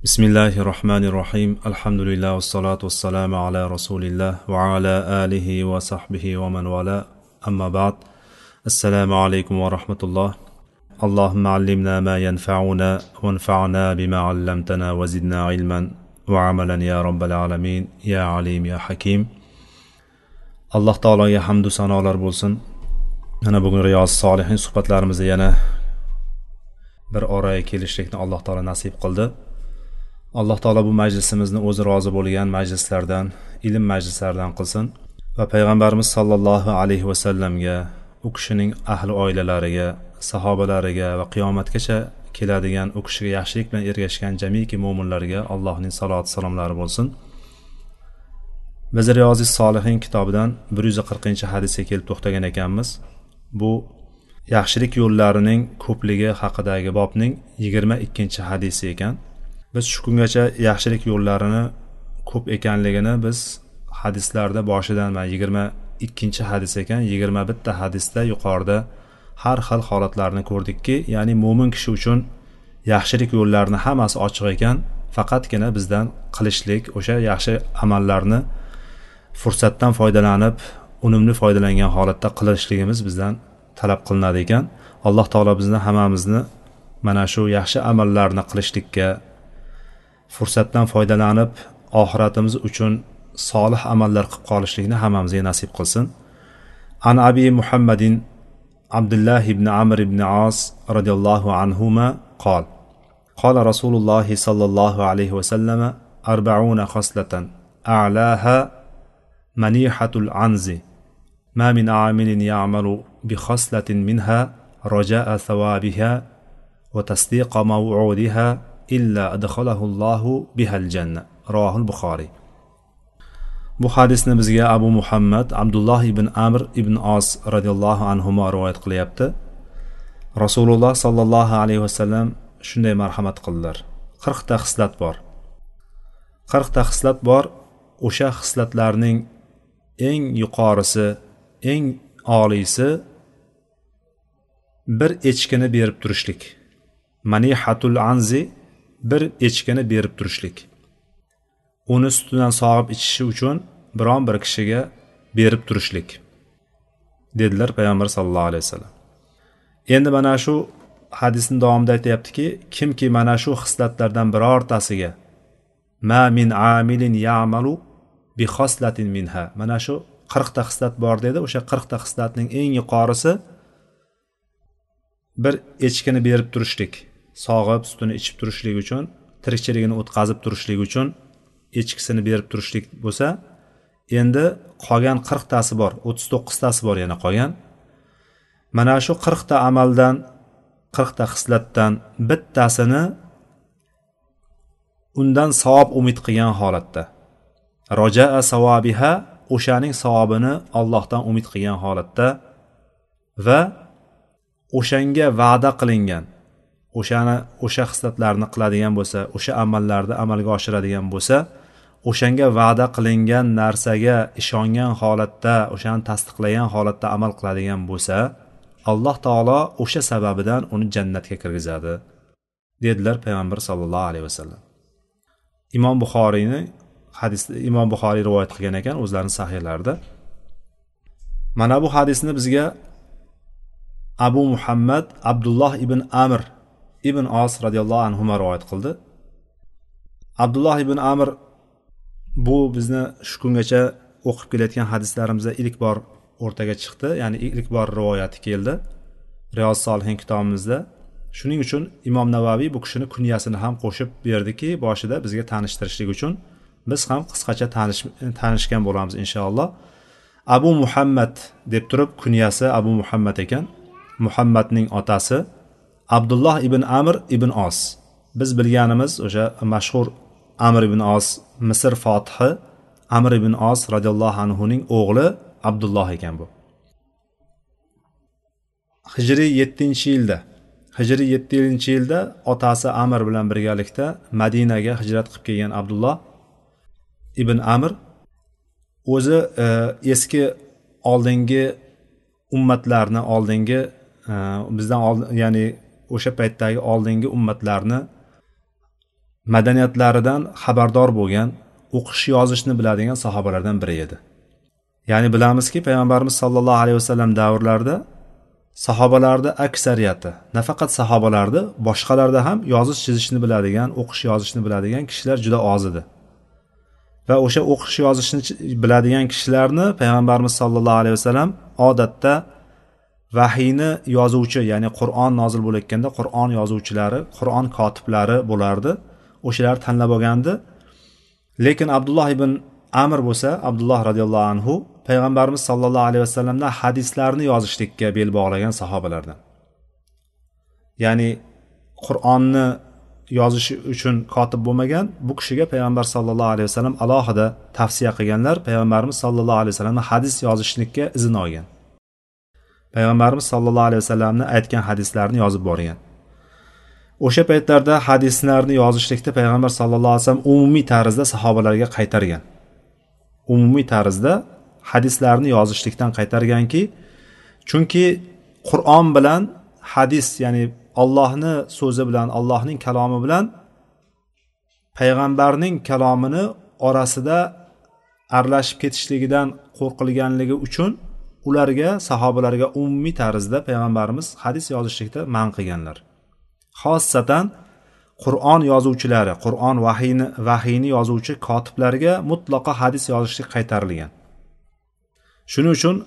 بسم الله الرحمن الرحيم الحمد لله والصلاة والسلام على رسول الله وعلى آله وصحبه ومن والاه أما بعد السلام عليكم ورحمة الله اللهم علمنا ما ينفعنا وانفعنا بما علمتنا وزدنا علما وعملا يا رب العالمين يا عليم يا حكيم الله تعالى يا حمد sanolar bo'lsin. Mana bugun Riyos Solihin suhbatlarimizda yana bir oraga kelishlikni Alloh taolo nasib qildi. Alloh taolo bu majlisimizni o'zi rozi bo'lgan majlislardan, ilm majlislaridan qilsin va payg'ambarimiz sollallohu alayhi va sallamga, u kishining ahli oilalariga, sahobalariga va qiyomatgacha keladigan u kishiga yaxshilik bilan ergashgan jamiki mo'minlarga Allohning salovat salomlari bo'lsin. Biz Riyozis Solihin kitobidan 140-hadisga kelib to'xtagan ekanmiz. Bu yaxshilik yo'llarining ko'pligi haqidagi bobning 22-hadisi ekan. Biz shu kungacha yaxshilik yo'llarini ko'p ekanligini biz hadislarda boshidan 22-hadis ekan, 21 hadisda yuqorida har xil holatlarni ko'rdikki, ya'ni mo'min kishi uchun yaxshilik yo'llarini hammasi ochiq ekan, faqatgina bizdan qilishlik, o'sha yaxshi amallarni fursatdan foydalanib, unumli foydalangan holatda qilishligimiz bizdan talab qilinadi ekan. Alloh taolo bizni hammamizni mana shu yaxshi amallarni qilishlikka, fursatdan foydalanib oxiratimiz uchun solih amallar qilib qolishlikni hammamizga nasib qilsin. An Abi Muhammadin Abdullah ibn Amr ibn As radiyallohu anhuma qol qala Rasululloh sallallohu alayhi va sallam 40 xoslatan a'laha manihatul anzi ma min amilin ya'malu bi khoslatin minha raja'a thawabiha wa tasdiqa maw'udiha illa adkhalahullohu bihal janna. Rohul Buxoriy. Bu hadisni bizga Abu Muhammad Abdullah ibn Amr ibn As radhiyallohu anhuma rivoyat qilyapti. Rasululloh sallallohu alayhi vasallam shunday marhamat qildilar. 40 ta xislat bor. 40 ta xislat bor. O'sha xislatlarning eng yuqorisi, eng oliysi bir echkini berib turishlik. Manihatul anzi, bir echkini berib turishlik. Uni sutidan sog'ib ichishi uchun biron bir kishiga berib turishlik dedilar payg'ambar sallallohu alayhi vasallam. Endi mana shu hadisning davomida aytayaptiki, kimki mana shu xislatlardan birortasiga ma min amilin ya'malu bi khoslatin minha, mana shu 40 ta xislat bor dedi. O'sha 40 ta xislatning eng yuqorisi bir echkini berib turishlik, sog'ib sutini ichib turishlik uchun, tirikchiligini o'tkazib turishlik uchun echkisini berib turishlik bo'lsa, endi qolgan 40 tasi bor, 39 tasi bor yana qolgan. Mana shu 40 ta amaldan, 40 ta xislatdan bittasini undan savob umid qilgan holatda, roja'a savobiha, o'shaning savobini Allohdan umid qilgan holatda va o'shanga va'da qilingan, o'sha xislatlarni qiladigan bo'lsa, o'sha amallarni amalga oshiradigan bo'lsa, o'shanga va'da qilingan narsaga ishongan holatda, o'shani tasdiqlagan holatda amal qiladigan bo'lsa, Alloh taolo o'sha sababidan uni jannatga kirgizadi dedilar payg'ambar sallallohu alayhi vasallam. Imom Buxoriyni hadisda Imom Buxoriy rivoyat qilgan ekan o'zlarining sahihlarida. Mana bu hadisni bizga Abu Muhammad Abdullah ibn Amr ibn As radhiyallohu anhu rivoyat qildi. Abdullah ibn Amr bu bizni shu kungacha o'qib kelayotgan hadislarimizda ilk bor o'rtaga chiqdi, ya'ni ilk bor rivoyati keldi Riyos Solihin kitobimizda. Shuning uchun Imom Navaviy bu kishini kunyasini ham qo'shib berdiki, boshida bizga tanishtirishlik uchun biz ham qisqacha tanishgan bo'lamiz inshaalloh. Abu Muhammad deb turib kunyasi Abu Muhammad ekan. Muhammadning otasi Abdullah ibn Amr ibn As. Biz bilganimiz o'sha mashhur Amr ibn As, Misr fotihi Amr ibn As radhiyallohu anhu ning o'g'li Abdullah ekan bu. Hijriy 7-yilda, Hijriy 7-yilda otasi Amr bilan birgalikda Madinaga hijrat qilib kelgan Abdullah ibn Amr o'zi eski oldingi ummatlarni, oldingi bizdan oldin, ya'ni o'sha paytdagi oldingi ummatlarni madaniyatlaridan xabardor bo'lgan, o'qish yozishni biladigan sahobalardan biri edi. Ya'ni bilamizki, payg'ambarimiz sollallohu alayhi vasallam davrlarida sahobalarda aksariyati, nafaqat sahobalarda, boshqalarda ham yozish chizishni biladigan, o'qish yozishni biladigan kishilar juda oz edi. Va o'sha o'qish yozishni biladigan kishilarni payg'ambarimiz sollallohu alayhi vasallam odatda vahiyni yozuvchi, ya'ni Qur'on nozil bo'layotganda Qur'on yozuvchilari, Qur'on kotiblari bo'lardi. O'shalar tanlab olgandi. Lekin Abdulloh ibn Amr bo'lsa, Abdulloh radhiyallohu anhu payg'ambarimiz sollallohu alayhi vasallamdan hadislarni yozishlikka bel bog'lagan sahobalardan. Ya'ni Qur'onni yozish uchun kotib bo'lmagan, bu kishiga payg'ambar sollallohu alayhi vasallam alohida tavsiya qilganlar, payg'ambarimiz sollallohu alayhi vasallam hadis yozishlikka izn olgan. Payg'ambarimiz sollallohu alayhi vasallamning aytgan hadislarni yozib borgan. O'sha paytlarda hadislarni yozishlikda payg'ambar sollallohu alayhi vasallam umumiy tarzda sahobalarga qaytargan. Umumiy tarzda hadislarni yozishlikdan qaytarganki, chunki Qur'on bilan hadis, ya'ni Allohning so'zi bilan, Allohning kalomi bilan payg'ambarning kalomini orasida aralashib ketishligidan qo'rqilganligi uchun ularga, sahobalarga umumiy tarzda payg'ambarimiz hadis yozishlikda man qilganlar. Xossatan Qur'on yozuvchilari, Qur'on vahiyni yozuvchi kotiblarga mutlaqo hadis yozishlik qaytarilgan. Shuning uchun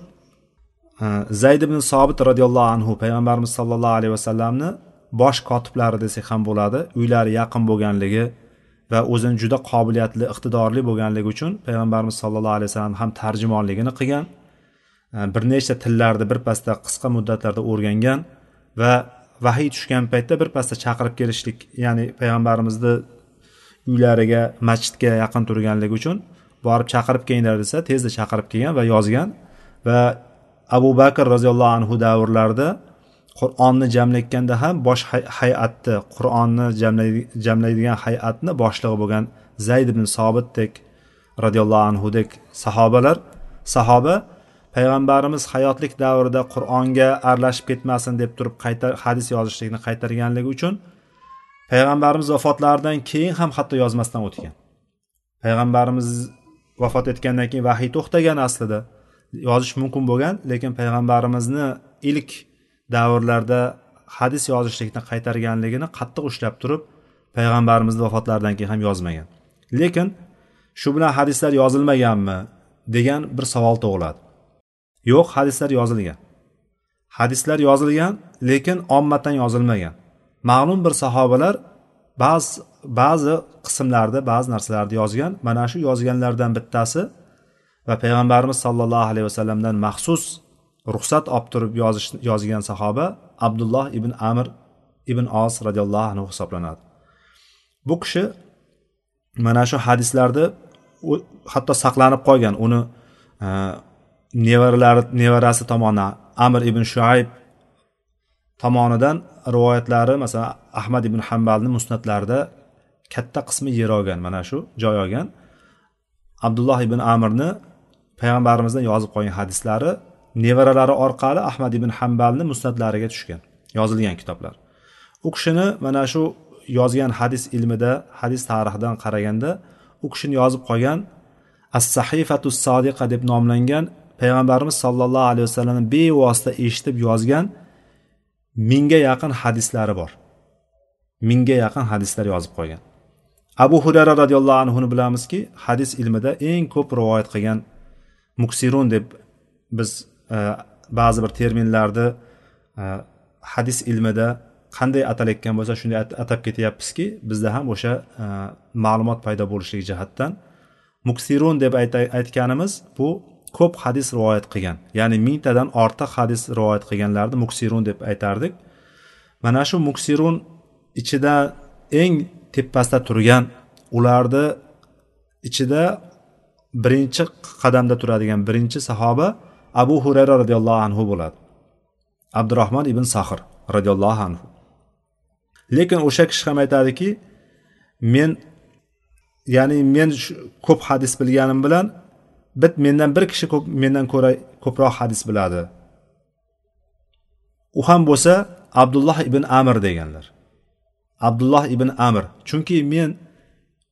Zayd ibn Sobit radhiyallohu anhu payg'ambarimiz sollallohu alayhi vasallamni bosh kotiblari desak ham bo'ladi. Uylari yaqin bo'lganligi va o'zini juda qobiliyatli, iqtidorli bo'lganligi uchun payg'ambarimiz sollallohu alayhi vasallam ham tarjimonligini qilgan. Bir nechta tillarni birpasda qisqa muddatlarda o'rgangan va vahiy tushgan paytda birpasda chaqirib kelishlik, ya'ni payg'ambarimizni uylariga, masjidga yaqin turganligi uchun borib chaqirib kelinglar desa, tezda chaqirib kelgan va yozgan. Va Abu Bakr roziyallohu anhu davrlarida Qur'onni jamlayotganda ham bosh hay'atni, Qur'onni jamlaydigan hay'atni boshlig'i bo'lgan Zayd ibn Sobitdek radhiyallohu anhudek sahoba payg'ambarimiz hayotlik davrida Qur'onga aralashib ketmasin deb turib hadis yozishlikni qaytarganligi uchun payg'ambarimiz vafotlaridan keyin ham hatto yozmasdan o'tgan. Payg'ambarimiz vafot etgandan keyin vahiy to'xtagan, aslida yozish mumkin bo'lgan, lekin payg'ambarimizni ilk davrlarda hadis yozishlikni qaytarganligini qattiq ushlab turib payg'ambarimizni vafotlaridan keyin ham yozmagan. Lekin shu bilan hadislar yozilmaganmi degan bir savol tug'iladi. Yo'q, hadislar yozilgan. Hadislar yozilgan, lekin ommatan yozilmagan. Ma'lum bir sahobalar ba'zi qismlarda ba'zi narsalarni yozgan. Mana shu yozganlardan bittasi va payg'ambarimiz sollallohu alayhi vasallamdan maxsus ruxsat olib turib yozgan sahoba Abdulloh ibn Amr ibn Os radhiyallohu anhu hisoblanadi. Bu kishi mana shu hadislarni hatto saqlanib qolgan. Uni nevarasi tomonidan Amr ibn Shuayb tomonidan rivoyatlari, masalan Ahmad ibn Hanbalning musnadlarida katta qismi yer olgan, mana shu joy olgan. Abdulloh ibn Amrni payg'ambarimizdan yozib qo'ygan hadislari nevaralari orqali Ahmad ibn Hanbalning musnadlariga tushgan, yozilgan kitoblar. U kishini mana shu yozgan hadis ilmida, hadis tarixidan qaraganda u kishini yozib qo'ygan As-Sahifatus Sodiqa deb nomlangan, payg'ambarimiz sollallohu alayhi vasallamning bevosita eshitib yozgan 1000 ga yaqin hadislari bor. 1000 ga yaqin hadislar yozib qo'ygan. Abu Hurayra radhiyallohu anhu bilamizki, hadis ilmida eng ko'p rivoyat qilgan muksirun deb biz ba'zi bir terminlarni hadis ilmida qanday atalayotgan bo'lsa shunday atab ketyapmizki, bizda ham o'sha ma'lumot paydo bo'lishligi jihatdan muksirun deb aytganimiz bu ko'p hadis rivoyat qilgan, ya'ni 1000 tadan ortiq hadis rivoyat qilganlarni muksirun deb aytardik. Mana shu muksirun ichida eng tepasida turgan, ularni ichida birinchi qadamda turadigan birinchi sahoba Abu Hurayra radhiyallohu anhu bo'ladi. Abdurrahmon ibn Sahr radhiyallohu anhu. Lekin o'sha kishi ham aytadiki, men ko'p hadis bilganim bilan mendan bir kishi mendan ko'ra ko'proq hadis biladi. U ham bo'lsa Abdulloh ibn Amr deganlar. Abdulloh ibn Amr. Chunki men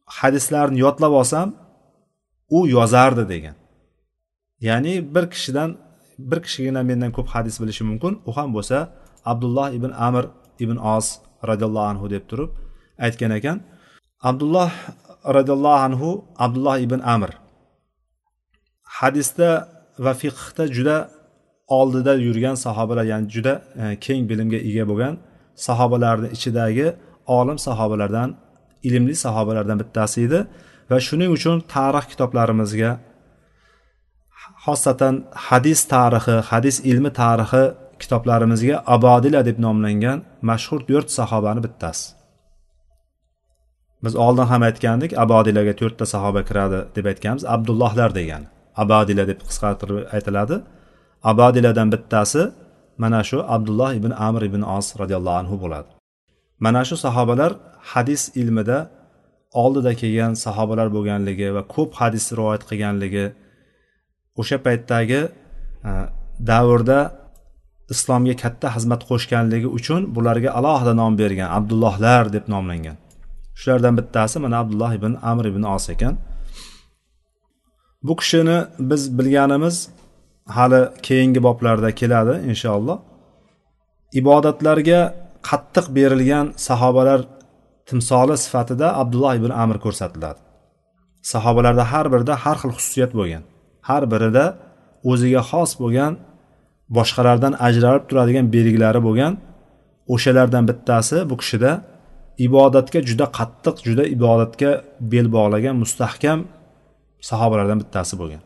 hadislarni yodlab olsam u yozardi degan. Ya'ni bir kishigina mendan ko'p hadis bilishi mumkin, u ham bo'lsa Abdulloh ibn Amr ibn Os radhiyallohu anhu deb turib aytgan ekan. Abdulloh radhiyallohu anhu, Abdulloh ibn Amr hadisda va fiqhda juda oldida yurgan sahobalar, ya'ni juda keng bilimga ega bo'lgan sahobalarning ichidagi olim sahobalardan, ilmli sahobalardan bittasi edi va shuning uchun tarix kitoblarimizga, xosatan hadis tarixi, hadis ilmi tarixi kitoblarimizga Abodila deb nomlangan mashhur 4 sahobani bittasi. Biz oldin ham aytgandik, Abodilaga 4 ta sahoba kiradi deb aytganmiz. Abdullohlar degan. Abodila deb qisqartirib aytiladi. Abodiladan bittasi mana shu Abdulloh ibn Amr ibn Os radhiyallohu anhu bo'ladi. Mana shu sahobalar hadis ilmida oldida kelgan sahobalar bo'lganligi va ko'p hadis rivoyat qilganligi, o'sha paytdagi davrda islomga katta xizmat qo'shganligi uchun bularga alohida nom bergan, Abdullohlar deb nomlangan. Shulardan bittasi mana Abdulloh ibn Amr ibn Os ekan. Bu kishini biz bilganimiz hali keyingi boblarda keladi inshaalloh. Ibodatlarga qattiq berilgan sahobalar timsoli sifatida Abdulloh ibn Amr ko'rsatiladi. Sahobalarda har birida har xil xususiyat bo'lgan. Har birida o'ziga xos bo'lgan, boshqalardan ajralib turadigan belgilari bo'lgan. O'shalardan bittasi bu kishida ibodatga juda qattiq, juda ibodatga bel bog'lagan mustahkam sahobalardan bittasi bo'lgan.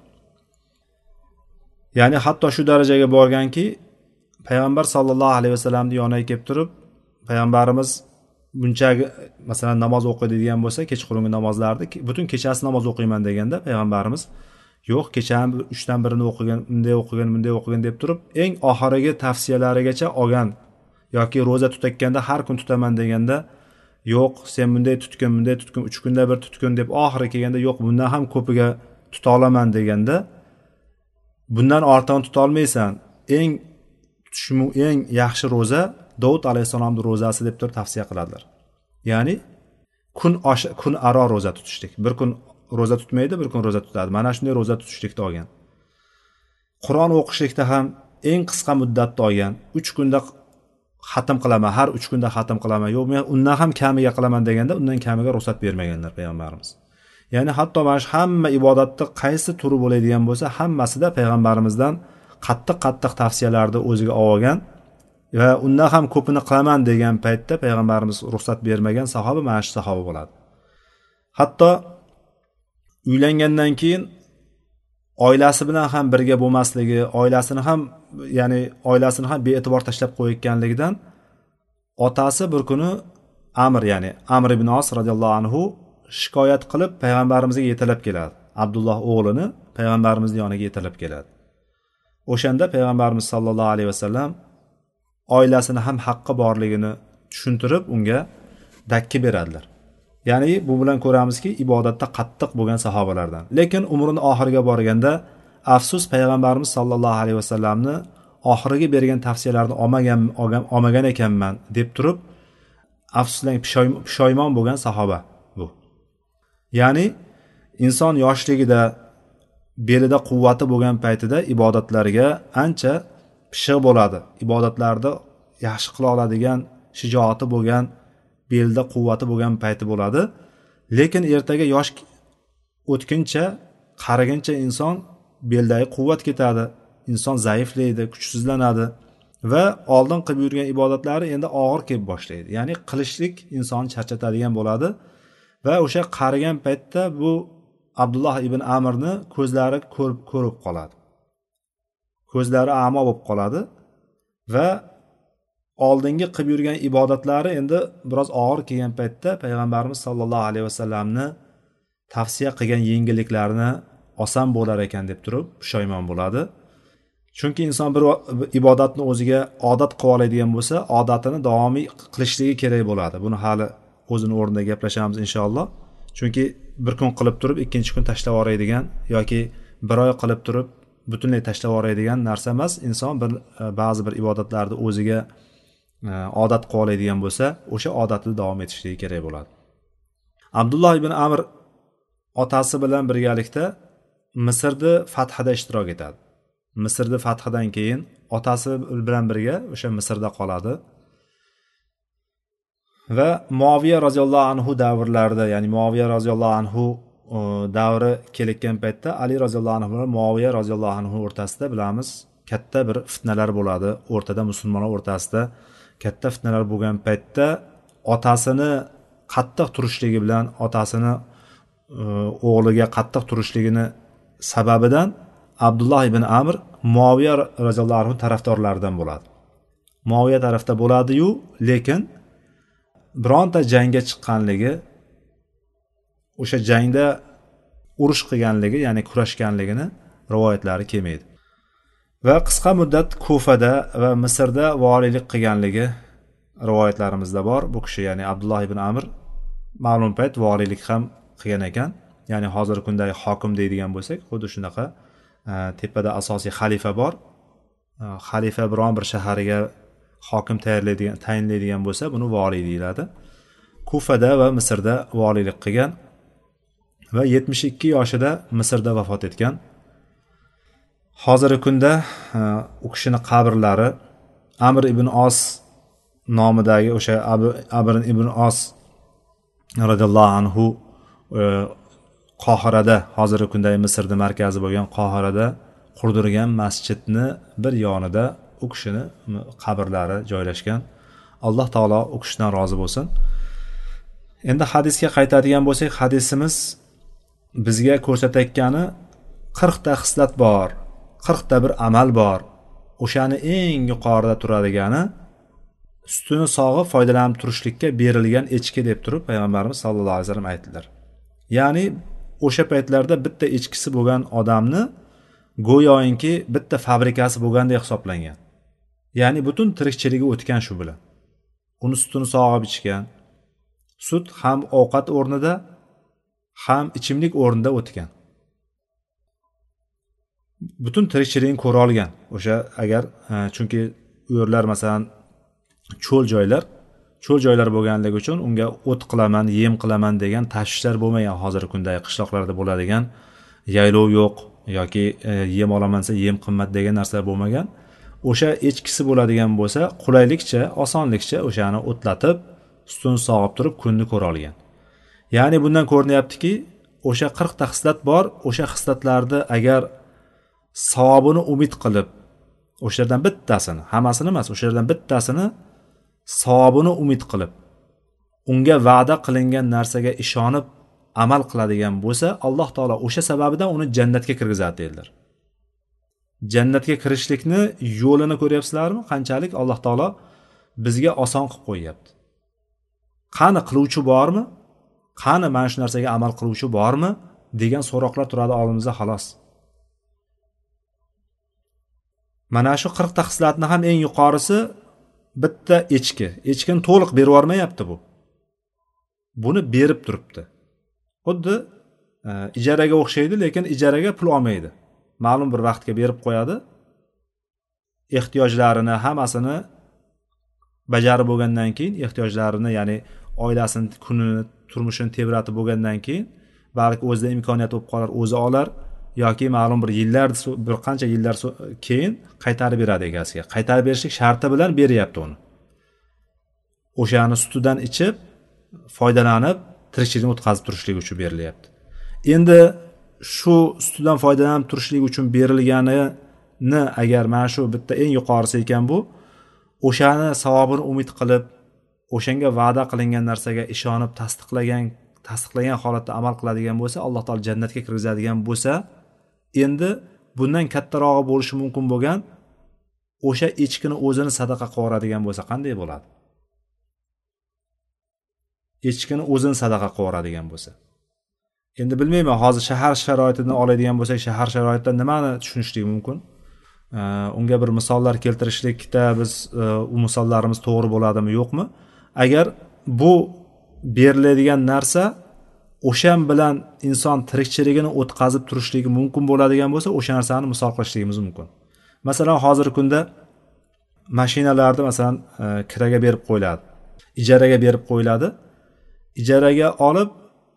Ya'ni hatto shu darajaga borganki, payg'ambar sollallohu alayhi vasallamning yoniga kelib turib, payg'ambarimiz bunchagi masalan namoz o'qiydigan bo'lsa, kechqurungi namozlarni butun kechasi namoz o'qiyman deganda payg'ambarimiz yo'q, kechani 3dan birini o'qigan, bunday o'qigan deb turib, eng oxirgi tavsiyalarigacha olgan, yoki roza tutayotganda har kun tutaman deganda yo'q, sen bunday tutgin, 3 kunda bir tutgin deb oxiri kelganda yo'q, bundan ham ko'piga tuta olaman deganda, bundan ortig'ini tuta olmaysan, eng yaxshi roza Davud alayhisolamning rozasi deb turib tavsiya qiladilar. Ya'ni kun aro roza tutishlik. Bir kun roza tutmaydi, bir kun roza tutadi. Mana shunday roza tutishlikda olgan. Qur'on o'qishlikda ham eng qisqa muddatda olgan. 3 kunda xatm qilaman, har 3 kunda xatm qilaman, yo'q men undan ham kamiga qilaman deganda undan kamiga ruxsat bermaganlar payg'ambarimiz. Ya'ni hatto mana shu hamma ibodatni qaysi turi bo'ladigan bo'lsa, hammasida payg'ambarimizdan qattiq tavsiyalarni o'ziga olgan va undan ham ko'pini qilaman degan paytda payg'ambarimiz ruxsat bermagan sahoba mana shu sahoba bo'ladi. Hatto uylangandan keyin oilasi bilan ham birga bo'lmasligi, oilasini ham bee'tibor tashlab qo'yayotganligidan otasi bir kuni Amr ibn Os radhiyallohu anhu shikoyat qilib payg'ambarimizga yetalab keladi. Abdulloh o'g'lini payg'ambarimizning yoniga yetalab keladi. O'shanda payg'ambarimiz sollallohu alayhi vasallam oilasini ham haqqi borligini tushuntirib unga dakki beradilar. Ya'ni bu bilan ko'ramizki, ibodatda qattiq bo'lgan sahobalardan. Lekin umrining oxiriga borganda afsus payg'ambarimiz sollallohu alayhi vasallamni oxiriga bergan tavsiyalarni olmagan ekanman deb turib afsuslanib pushaymon bo'lgan sahoba bu. Ya'ni inson yoshligida belida quvvati bo'lgan paytida ibodatlarga ancha pishiq bo'ladi. Ibodatlarda yaxshi qila oladigan, shijoati bo'lgan, belda quvvati bo'lgan payti bo'ladi. Lekin ertaga yosh o'tkincha, qariguncha inson beldagi quvvat ketadi, inson zaiflaydi, kuchsizlanadi va oldin qilib yurgan ibodatlari endi og'ir kelib boshlaydi. Ya'ni qilishlik insonni charchatadigan bo'ladi va o'sha qarigan paytda bu Abdulloh ibn Amrni ko'zlari ko'rib qoladi. Ko'zlari amo bo'lib qoladi va oldingi qilib yurgan ibodatlari endi biroz og'ir kelgan paytda payg'ambarimiz sollallohu alayhi vasallamni tavsiya qilgan yengilliklarni oson bo'lar ekan deb turib pushaymon bo'ladi. Chunki inson bir ibodatni o'ziga odat qilib oladigan bo'lsa, odatini davomiy qilishligi kerak bo'ladi. Buni hali o'zini o'rnida gaplashamiz inshaalloh. Chunki bir kun qilib turib ikkinchi kun tashlab yuboradigan yoki bir oy qilib turib butunlay tashlab yuboradigan narsa emas. Inson ba'zi bir ibodatlarni o'ziga odat qilib oladigan bo'lsa, o'sha odatni davom etishligi kerak bo'ladi. Abdulloh ibn Amr otasi bilan birgalikda Misrni fathida ishtirok etadi. Misrni fathidan keyin otasi bilan birga o'sha Misrda qoladi. Va Muaviya roziyallohu anhu davrlarida, ya'ni Muaviya roziyallohu anhu davri kelayotgan paytda Ali roziyallohu anhu bilan Muaviya roziyallohu anhu o'rtasida bilamiz katta bir fitnalar bo'ladi. O'rtada musulmonlar o'rtasida katta fitnalar bo'lgan paytda otasini qattiq turishligi bilan otasini o'g'liga qattiq turishligini sababidan Abdulloh ibn Amr Muaviya roziyallohu anhu tarafdorlaridan bo'ladi. Muaviya tarafda bo'ladi-yu, lekin bironta jangga chiqqanligi, o'sha jangda urush qilganligi, ya'ni kurashganligini rivoyatlari kelmaydi. Va qisqa muddat Kufada va Misrda valiylik qilganligi rivoyatlarimizda bor. Bu kishi, ya'ni Abdulloh ibn Amr ma'lum payt valiylik ham qilgan ekan. Ya'ni hozirgi kundagi hokim deydigan bo'lsak, xuddi shunaqa tepada asosiy xalifa bor. Xalifa biron bir shahariga hokim tayinlaydigan bo'lsa, buni valiy deyiladi. Kufada va Misrda valiylik qilgan va 72 yoshida Misrda vafot etgan. Hozirgi kunda u kishini qabrlari Amr ibn Os nomidagi o'sha Amr ibn Os radhiyallohu anhu Qohirada, hozirgi kundagi Misrning markazi bo'lgan Qohirada qurdirgan masjidni bir yonida u kishini qabrlari joylashgan. Alloh taolo u kishidan rozi bo'lsin. Endi hadisga qaytadigan bo'lsak, hadisimiz bizga ko'rsatayotgani 40 ta xislat bor, 40 ta bir amal bor. O'shani eng yuqorida turadigani sutini sog'ib foydalanib turishlikka berilgan echki deb turib payg'ambarimiz sollallohu alayhi vasallam aytdilar. Ya'ni o'sha paytlarda bitta echkisi bo'lgan odamni go'yoki bitta fabrikasi bo'lgandek hisoblangan. Ya'ni butun tirikchiligi o'tgan shu bilan. Uni sutini sog'ib ichgan. Sut ham ovqat o'rnida, ham ichimlik o'rnida o'tgan. Butun tirikchiligini ko'ra olgan. O'sha agar chunki u yerlar masalan cho'l joylar bo'lganligi uchun unga o't qilaman, yem qilaman degan tashvishlar bo'lmagan. Hozirgi kundagi qishloqlarda bo'ladigan yaylov yo'q yoki yem olaman desa yem qimmat degan narsalar bo'lmagan. O'sha echkisi bo'ladigan bo'lsa, qulaylikcha, osonlikcha o'shani o'tlatib, sutini sog'ib turib kunni ko'ra olgan. Ya'ni bundan ko'rinyaptiki, o'sha 40 ta xislat bor, o'sha xislatlarni agar savobini umid qilib, o'shalardan bittasini, hammasini emas, o'shalardan bittasini savobini umid qilib, unga va'da qilingan narsaga ishonib amal qiladigan bo'lsa, Alloh taolo o'sha sababidan uni jannatga kirgizadi dedilar. Jannatga kirishlikni yo'lini ko'ryapsizlarmi? Qanchalik Alloh taolo bizga oson qilib qo'yapti. Qani qiluvchi bormi? Qani mana shu narsaga amal qiluvchi bormi degan so'roqlar turadi oldimizda xolos. Mana shu 40 ta xislatni ham eng yuqorisi bitta echki. Echkini to'liq berib yormayapti bu. Buni berib turibdi. Xuddi ijaraga o'xshaydi, lekin ijaraga pul olmaydi. Ma'lum bir vaqtga berib qo'yadi. Ehtiyojlarini hammasini bajarib bo'lgandan keyin, ehtiyojlarini, ya'ni oilasini kunini, turmushini tebratib bo'lgandan keyin, balki o'zida imkoniyat bo'lib qolar, o'zi olar yoki ma'lum bir yillar, bir qancha yillar keyin qaytarib beradi egasiga. Qaytarib berishlik sharti bilan beryapti uni. O'shani sutidan ichib, foydalanib, tirikchilikni o'tkazib turishlik uchun berilyapti. Endi shu sutidan foydalanib turishlik uchun berilganini agar mana shu bitta eng yuqorisi ekan bu, o'shani savobini umid qilib, o'shanga va'da qilingan narsaga ishonib tasdiqlagan holatda amal qiladigan bo'lsa, Alloh taolo jannatga kirgizadigan bo'lsa, endi bundan kattarog'i bo'lishi mumkin bo'lgan o'sha echkini o'zini sadaqa qilib yuboradigan bo'lsa qanday bo'ladi? Echkini o'zini sadaqa qilib yuboradigan bo'lsa. Endi bilmayman, hozir shahar sharoitidan oladigan bo'lsak, shahar sharoitida nimani tushunishlik mumkin? Unga bir misollar keltirishlikda biz u misollarimiz to'g'ri bo'ladimi, yo'qmi? Agar bu beriladigan narsa o'shan bilan inson tirikchiligini o'tkazib turishligi mumkin bo'ladigan bo'lsa, o'sha narsani misol qilishligimiz mumkin. Masalan, hozirgi kunda mashinalarni masalan kiraga berib qo'yiladi, ijaraga berib qo'yiladi. Ijaraga olib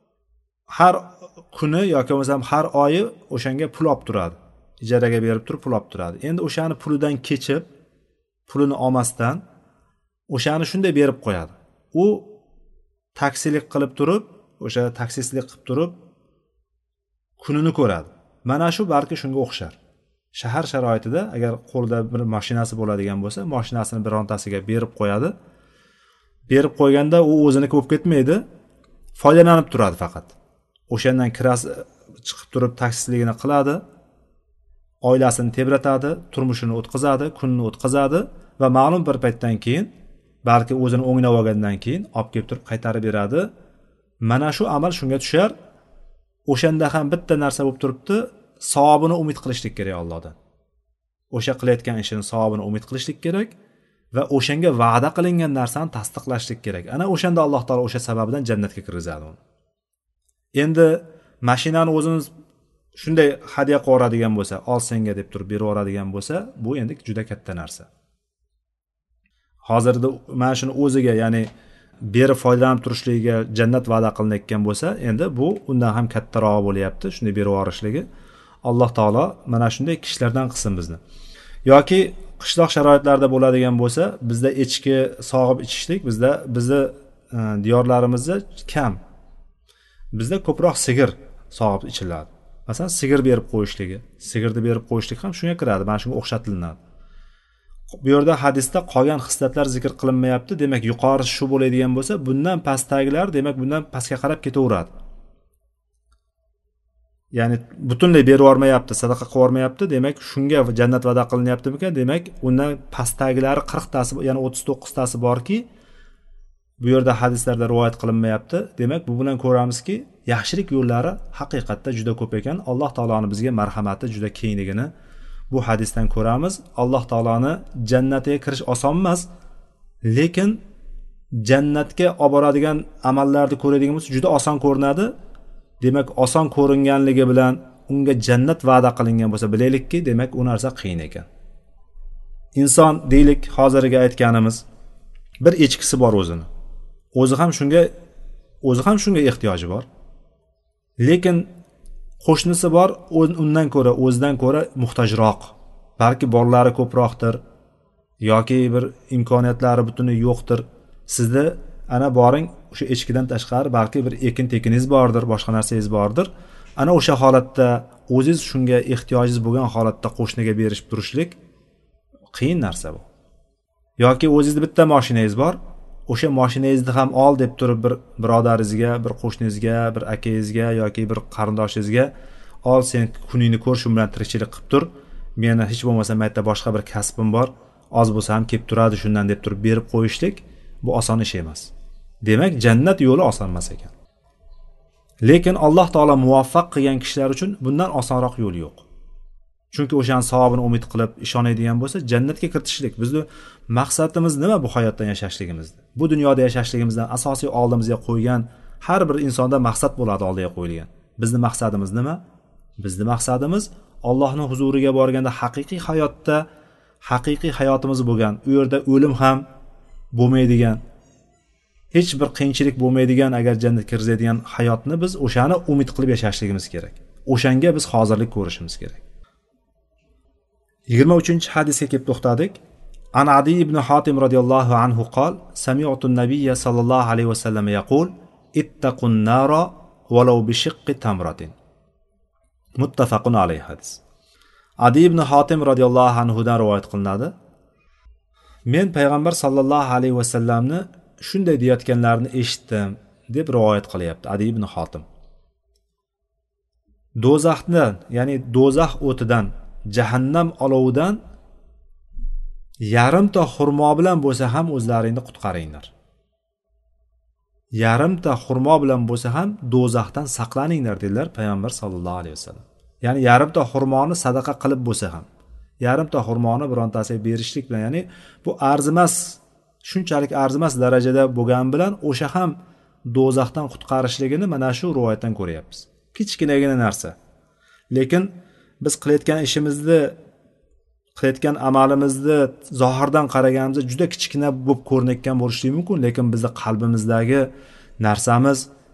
har kuni yoki bo'lmasam har oyi o'shanga pul olib turadi, ijaraga berib turib pul olib turadi. Endi o'shani pulidan kechib, pulini olmasdan o'shani shunday berib qo'yadi. U taksilik qilib turib, o'sha taksistlik qilib turib kunini ko'radi. Mana shu balki shunga o'xshar. Shahar sharoitida agar qo'lida bir mashinasi bo'ladigan bo'lsa, mashinasini birontasiga berib qo'yadi. Berib qo'yganda u o'ziniki bo'lib ketmaydi, foydalanib turadi faqat. O'shandan kirasi chiqib turib taksistligini qiladi, oilasini tebratadi, turmushini o'tkazadi, kunini o'tkazadi va ma'lum bir paytdan keyin, balki o'zini o'nglab olgandan keyin olib kelib turib qaytarib beradi. Mana shu amal shunga tushar. O'shanda ham bitta narsa bo'lib turibdi, savobini umid qilishlik kerak Allohdan. O'sha qilayotgan ishini savobini umid qilishlik kerak va o'shanga va'da qilingan narsani tasdiqlashlik kerak. Ana o'shanda Alloh taolo o'sha sababdan jannatga kirgizadi uni. Endi mashinani o'zimiz shunday hadya qilib yuboradigan bo'lsa, ol senga deb turib berib yuboradigan bo'lsa, bu endi juda katta narsa. Hozirda mana shuni o'ziga, ya'ni berib foydalanib turishligiga jannat va'da qilinayotgan bo'lsa, endi bu undan ham kattaroq bo'lyapti, shunday berib yuborishligi. Alloh taolo mana shunday kishilardan qilsin bizni. Yoki qishloq sharoitlarda bo'ladigan bo'lsa, bizda echki sog'ib ichishlik bizni diyorlarimizda kam. Bizda ko'proq sigir sog'ib ichiladi. Masalan, sigir berib qo'yishligi, sigirni berib qo'yishlik ham shunga kiradi, mana shunga o'xshatilinadi. Bu yerda hadisda qolgan xislatlar zikr qilinmayapti. Demak, yuqori shu bo'ladigan bo'lsa, bundan pastdagilar demak bundan pastga qarab ketaveradi. Ya'ni butunlay berib yubormayapti, sadaqa qilib yubormayapti. Demak, shunga jannat va'da qilinyaptimikan? Demak, undan pastdagilari 40 tasi, ya'ni 39 tasi borki, bu yerda hadislarda rivoyat qilinmayapti. Demak, bu bilan ko'ramizki, yaxshilik yo'llari haqiqatda juda ko'p ekan. Alloh taoloning bizga marhamati juda kengligini bu hadisdan ko'ramiz. Alloh taoloni jannatiga kirish oson emas, lekin jannatga olib boradigan amallarni ko'radigan bo'lsa juda oson ko'rinadi. Demak, oson ko'ringanligi bilan unga jannat va'da qilingan bo'lsa, bilaylikki, demak, u narsa qiyin ekan. Inson deylik, hozirga aytganimiz bir echkisi bor o'zini. O'zi ham shunga ehtiyoji bor. Lekin qo'shnisi bor, o'zidan ko'ra muhtojroq. Balki bolalari ko'proqdir yoki bir imkoniyatlari butunlay yo'qdir. Sizda ana boring, o'sha echkidan tashqari balki bir ekin-tekiningiz bordir, boshqa narsangiz bordir. Ana o'sha holatda o'zingiz shunga ehtiyojingiz bo'lgan holatda qo'shniga berishib turishlik qiyin narsa bu. Yoki o'zingizda bitta mashinangiz bor, o'sha mashinangizni ham ol deb turib bir birodaringizga, bir qo'shningizga, bir akangizga yoki bir qarindoshingizga, ol sen kuningni ko'r, shu bilan tirikchilik qilib tur. Meni hech bo'lmasa maytda boshqa bir kasbim bor, oz bo'lsa ham kelib turadi shundan deb turib berib qo'yishlik bu oson ish emas. Demak, jannat yo'li oson emas ekan. Lekin Alloh taolo muvaffaq qilgan kishilar uchun bundan osonroq yo'l yo'q. Chunki o'shaning savobini umid qilib ishonadigan bo'lsa, jannatga kiritishlik. Bizning maqsadimiz nima bu hayotdan yashashligimizda? Bu dunyoda yashashligimizdan asosiy oldimizga qo'ygan har bir insonda maqsad bo'ladi, oldiga qo'yilgan. Bizning maqsadimiz nima? Bizning maqsadimiz Allohning huzuriga borganda haqiqiy hayotda, haqiqiy hayotimiz bo'lgan, u yerda o'lim ham bo'lmaydigan, hech bir qiyinchilik bo'lmaydigan, agar jannatga kiradigan hayotni biz o'shani umid qilib yashashligimiz kerak. O'shanga biz hozirlik ko'rishimiz kerak. 23-hadisga kelib to'xtadik. An Adi ibn Hatim radhiyallohu anhu qol: Sami'tu an-nabiyya sallallohu alayhi va sallam yaqul: Ittaqun nara walau bi shiqqi tamratin. Muttafaqun alayhi hadis. Adi ibn Hatim radhiyallohu anhu dan rivoyat qilinadi. Men payg'ambar sallallohu alayhi va sallamni shunday deyotganlarini eshitdim deb rivoyat qilyapti Adi ibn Hatim. Do'zaxdan, ya'ni do'zax o'tidan, jahannam olovidan yarimta xurmo bilan bo'lsa ham o'zlaringni qutqaringlar. Yarimta xurmo bilan bo'lsa ham do'zaxdan saqlaninglar dedilar payg'ambar sallallohu alayhi vasallam. Ya'ni yarimta xurmoni sadaqa qilib bo'lsa ham, yarimta xurmoni birontasiga berishlik bilan, ya'ni bu arzimas, shunchalik arzimas darajada bo'lgan bilan o'sha ham do'zaxdan qutqarishligini mana shu rivoyatdan ko'ryapmiz. Kichkinagina narsa. Lekin biz qilayotgan ishimizni, qilayotgan amalimizni zohirdan qaraganimizda juda kichkina bo'lib ko'rinayotgan bo'lishi mumkin, lekin bizning qalbimizdagi narsamiz,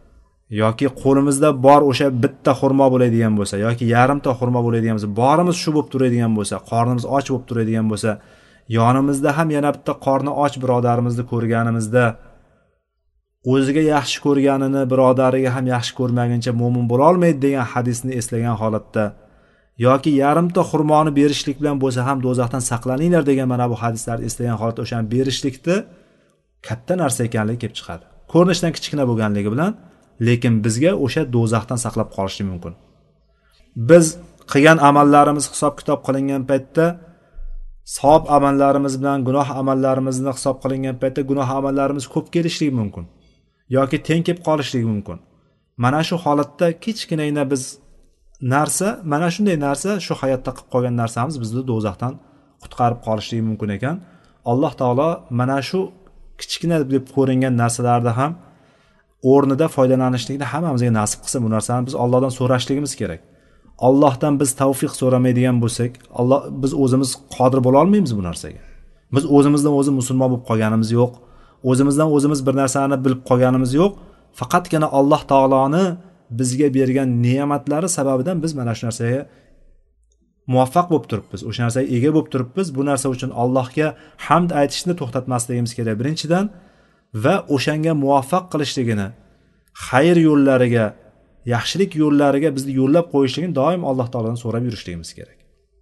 yoki qo'limizda bor o'sha bitta xurmo bo'ladigan bo'lsa yoki yarimta xurmo bo'ladigan bo'lsa, borimiz shu bo'lib turadigan bo'lsa, qornimiz och bo'lib turadigan bo'lsa, yonimizda ham yana bitta qorni och birodarimizni ko'rganimizda o'ziga yaxshi ko'rganini birodariga ham yaxshi ko'rmaguncha mo'min bo'la olmaydi degan hadisni eslagan holatda yoki yarimta xurmoni berishlik bilan bo'lsa ham do'zaxdan saqlaninglar degan mana bu hadislarni eslagan holatda o'shani berishlikni katta narsa ekanligi kelib chiqadi. Ko'rinishdan kichkina bo'lganligi bilan, lekin bizga o'sha do'zaxdan saqlab qolishi mumkin. Biz qilgan amallarimiz hisob kitob qilingan paytda savob amallarimiz bilan gunoh amallarimizni hisob qilingan paytda gunoh amallarimiz ko'p kelishligi mumkin yoki teng kelib qolishligi mumkin. Mana shu holatda kichkinagina biz narsa, mana shunday narsa shu hayotda qilib qolgan narsamiz bizni do'zaxdan qutqarib qolishligi mumkin ekan. Alloh taolo mana shu kichkina deb ko'ringan narsalarda ham o'rnida foydalanishlikni hammamizga nasib qilsa, bu narsani biz Allohdan so'rashligimiz kerak. Allohdan biz tavfiq so'ramaydigan bo'lsak, biz o'zimiz qodir bo'la olmaymiz bu narsaga. Biz o'zimizdan o'zi musulmon bo'lib qolganimiz yo'q. O'zimizdan o'zimiz bir narsani bilib qolganimiz yo'q. Faqatgina Alloh taoloni bizga bergan ne'matlari sababidan biz mana shu narsaga muvaffaq bo'lib turibmiz. O'sha narsaga ega bo'lib turibmiz. Bu narsa uchun Allohga hamd aytishni to'xtatmasligimiz kerak birinchidan va o'shanga muvaffaq qilishligini, xayr yo'llariga, yaxshilik yo'llariga bizni yo'llab qo'yishligini doim Alloh taolodan so'rab yurishligimiz kerak.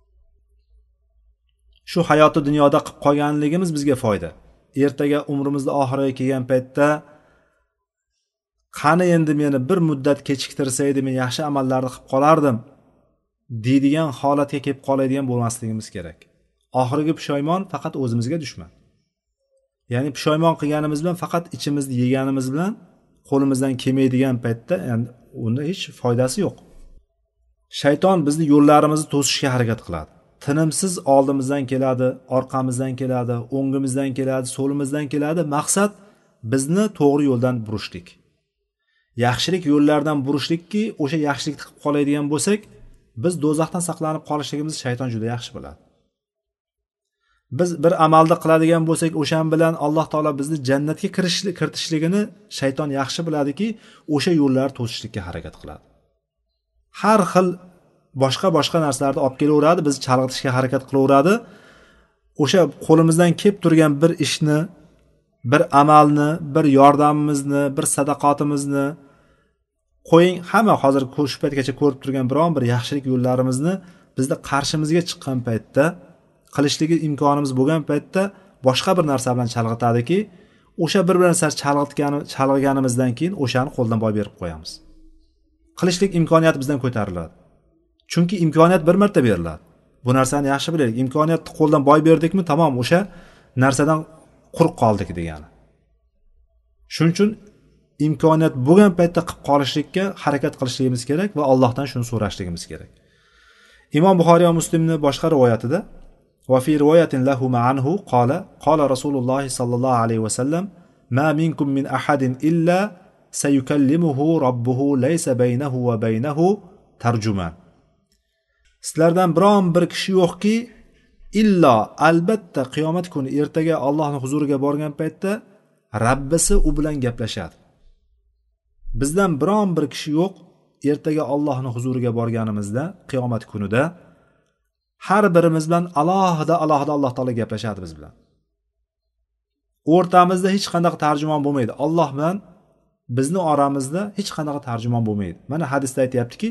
Shu hayoti dunyoda qilib qolganligimiz bizga foyda. Ertaga umrimizning oxiriga kelgan paytda qani endi meni bir muddat kechiktirsaydi, men yaxshi amallarni qilib qolardim deydigan holatga kelib qoladigan bo'lmasligimiz kerak. Oxirgi pushaymon faqat o'zimizga dushman. Ya'ni pushaymon qilganimiz bilan faqat ichimizni yeganimiz bilan qo'limizdan kelmaydigan paytda, ya'ni unda hech foydasi yo'q. Shayton bizni yo'llarimizni to'sishga harakat qiladi. Tinimsiz oldimizdan keladi, orqamizdan keladi, o'ngimizdan keladi, so'limizdan keladi. Maqsad bizni to'g'ri yo'ldan burishlik. Yaxshilik yo'llardan burishlikki, o'sha yaxshilikni qilib qoladigan bo'lsak, biz do'zaxdan saqlanib qolishligimizni shayton juda yaxshi biladi. Biz bir amalni qiladigan bo'lsak, o'shan bilan Alloh taolo bizni jannatga kiritishligini shayton yaxshi biladiki, o'sha yo'llarni to'sishlikka harakat qiladi. Har xil boshqa narsalarni olib kelaveradi, bizni chalg'itishga harakat qilaveradi. O'sha qo'limizdan kelib turgan bir ishni, bir amalni, bir yordamimizni, bir sadaqatimizni qo'ying, hamma hozir shu paytgacha ko'rib turgan biron bir yaxshilik yo'llarimizni bizni qarshimizga chiqqan paytda, qilishligi imkonimiz bo'lgan paytda boshqa bir narsa bilan chalg'itadiki, o'sha bir narsa chalg'iganimizdan keyin o'shani qo'ldan boy berib qo'yamiz. Qilishlik imkoniyati bizdan ko'tariladi. Chunki imkoniyat bir marta beriladi. Bu narsani yaxshi bilaylik. Imkoniyatni qo'ldan boy berdikmi, tamom, o'sha narsadan quruq qoldik degani. Shuning uchun imkoniyat bo'lgan paytda qilib qolishlikka harakat qilishligimiz kerak va Allohdan shuni so'rashligimiz kerak. Imom Buxoriy va Muslimning boshqa rivoyatida va fi rivoyatin lahu ma'anhu qala Rasululloh sallallohu alayhi va sallam ma minkum min ahadin illa sayukallimuhu robbuhu laysa baynahu va baynahu tarjuman. Sizlardan biron bir kishi yo'qki, illo albatta qiyomat kuni ertaga Allohning huzuriga borgan paytda Rabbisi u bilan gaplashadi. Bizdan biron bir kishi yo'q, ertaga Allohning huzuriga borganimizda qiyomat kunida har birimiz bilan alohida Alloh taolo gaplashadi biz bilan. O'rtamizda hech qanday tarjimon bo'lmaydi. Alloh bilan bizni oramizda hech qanday tarjimon bo'lmaydi. Mana hadisda aytayaptiki,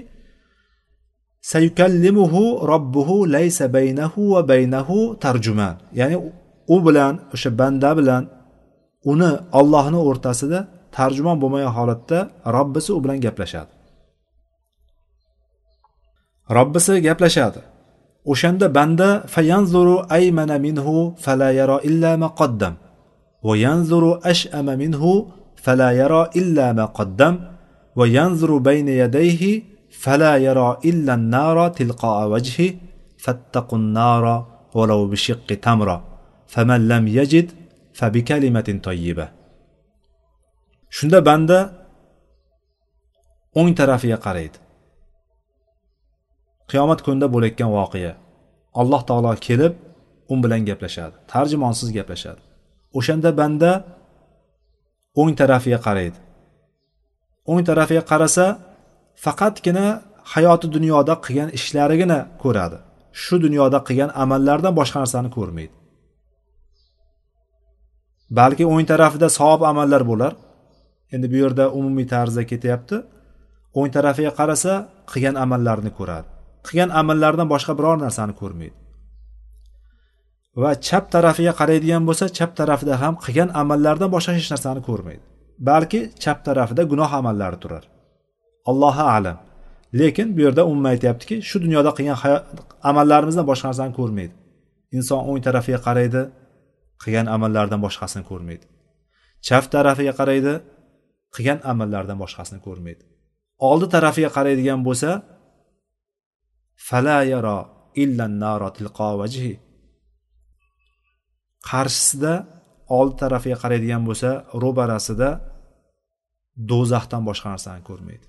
sayukallimuhu robbuhu laysa baynahu va baynahu tarjuman. Ya'ni u bilan, o'sha banda bilan uni Allohning o'rtasida tarjimon bo'lmagan holatda Robbisi u bilan gaplashadi. Robbisi gaplashadi. O'shanda banda fayanzuru aymana minhu fala yara illa ma qaddam va yanzuru ash'ama minhu fala yara illa ma qaddam va yanzuru bayna yadayhi fala yara illa an-nara tilqa'a wajhi fattaqun nara walau bi shiqqi tamra faman lam yajid fa bi kalimatin tayyibah. Shunda banda o'ng tarafiga qaraydi. Qiyomat kunida bo'layotgan voqea. Alloh taolo kelib bilan gaplashadi. Tarjimonsiz gaplashadi. O'shanda banda o'ng tarafiga qaraydi. o'ng tarafiga qarasa faqatgina hayoti dunyoda qilgan ishlarigina ko'radi. Shu dunyoda qilgan amallardan boshqa narsani ko'rmaydi. Balki o'ng tarafida savob amallar bo'lar. Endi bu yerda umumiy tarzda ketyapti. O'ng tarafiga qarasa qilgan amallarni ko'radi. Qilgan amallardan boshqa biror narsani ko'rmaydi. Va chap tarafiga qaraydigan bo'lsa, chap tarafida ham qilgan amallardan boshqa hech narsani ko'rmaydi. Balki chap tarafida gunoh amallari turar. Allohu a'lam. Lekin bu yerda umuman aytayaptiki, shu dunyoda qilgan amallarimizdan boshqa narsani ko'rmaydi. Inson o'ng tarafiga qaraydi, qilgan amallardan boshqasini ko'rmaydi. Chap tarafiga qaraydi, qilgan amallardan boshqasini ko'rmaydi. Oldi tarafiga qaraydigan bo'lsa, fala yara illa an-nara tilqa wajhi. Qarshisida oldi tarafiga qaraydigan bo'lsa, ro'barasida do'zaxdan boshqa narsani ko'rmaydi.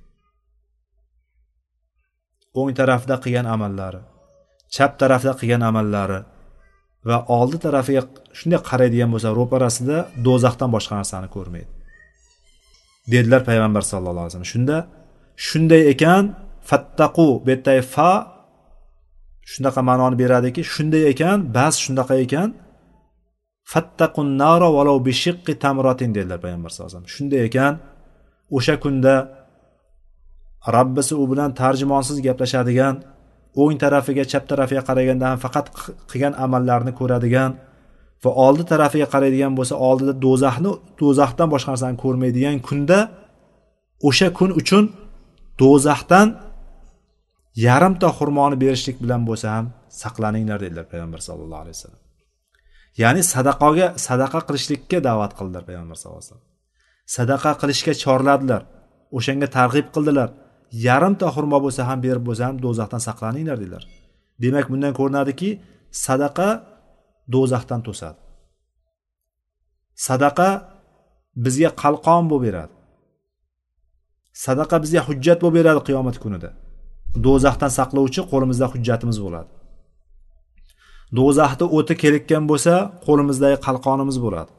O'ng tarafda qilgan amallari, chap tarafda qilgan amallari va oldi tarafiga shunday qaraydigan bo'lsa, ro'parasida do'zaxdan boshqa narsani ko'rmaydi. Dedilar payg'ambar sallallohu alayhi vasallam. Shunday ekan, fattaqu betay fa shunaqa ma'noni beradiki, shunday ekan, bas shunaqa ekan, fattaqun nara walau bi shiqqi tamratin dedilar payg'ambar sallallohu alayhi vasallam. Shunday ekan, o'sha kunda Rabbisi u bilan tarjimonsiz gaplashadigan, o'ng tarafiga, chap tarafiga qaraganda ham faqat qilgan amallarni ko'radigan va oldi tarafiga qaraydigan bo'lsa, oldida do'zaxdan boshqa narsani ko'rmaydigan kunda, o'sha kun uchun do'zaxdan yarimta xurmoni berishlik bilan bo'lsa ham saqlaninglar dedilar payg'ambar sallallohu alayhi vasallam. Ya'ni sadaqa qilishlikka da'vat qildilar payg'ambar sallallohu alayhi vasallam. Sadaqa qilishga chorladilar, o'shanga targ'ib qildilar. Yarimta xurmo bo'lsa ham, berib bo'lsa ham do'zaxdan saqlaninglar dedilar. Demak, bundan ko'rinadiki, sadaqa do'zaxdan to'sadi. Sadaqa bizga qalqon bo'lib beradi. Sadaqa bizga hujjat bo'lib beradi qiyomat kunida. Do'zaxdan saqlovchi qo'limizda hujjatimiz bo'ladi. Do'zaxda o'ti kelikkan bo'lsa, qo'limizdagi qalqonimiz bo'ladi.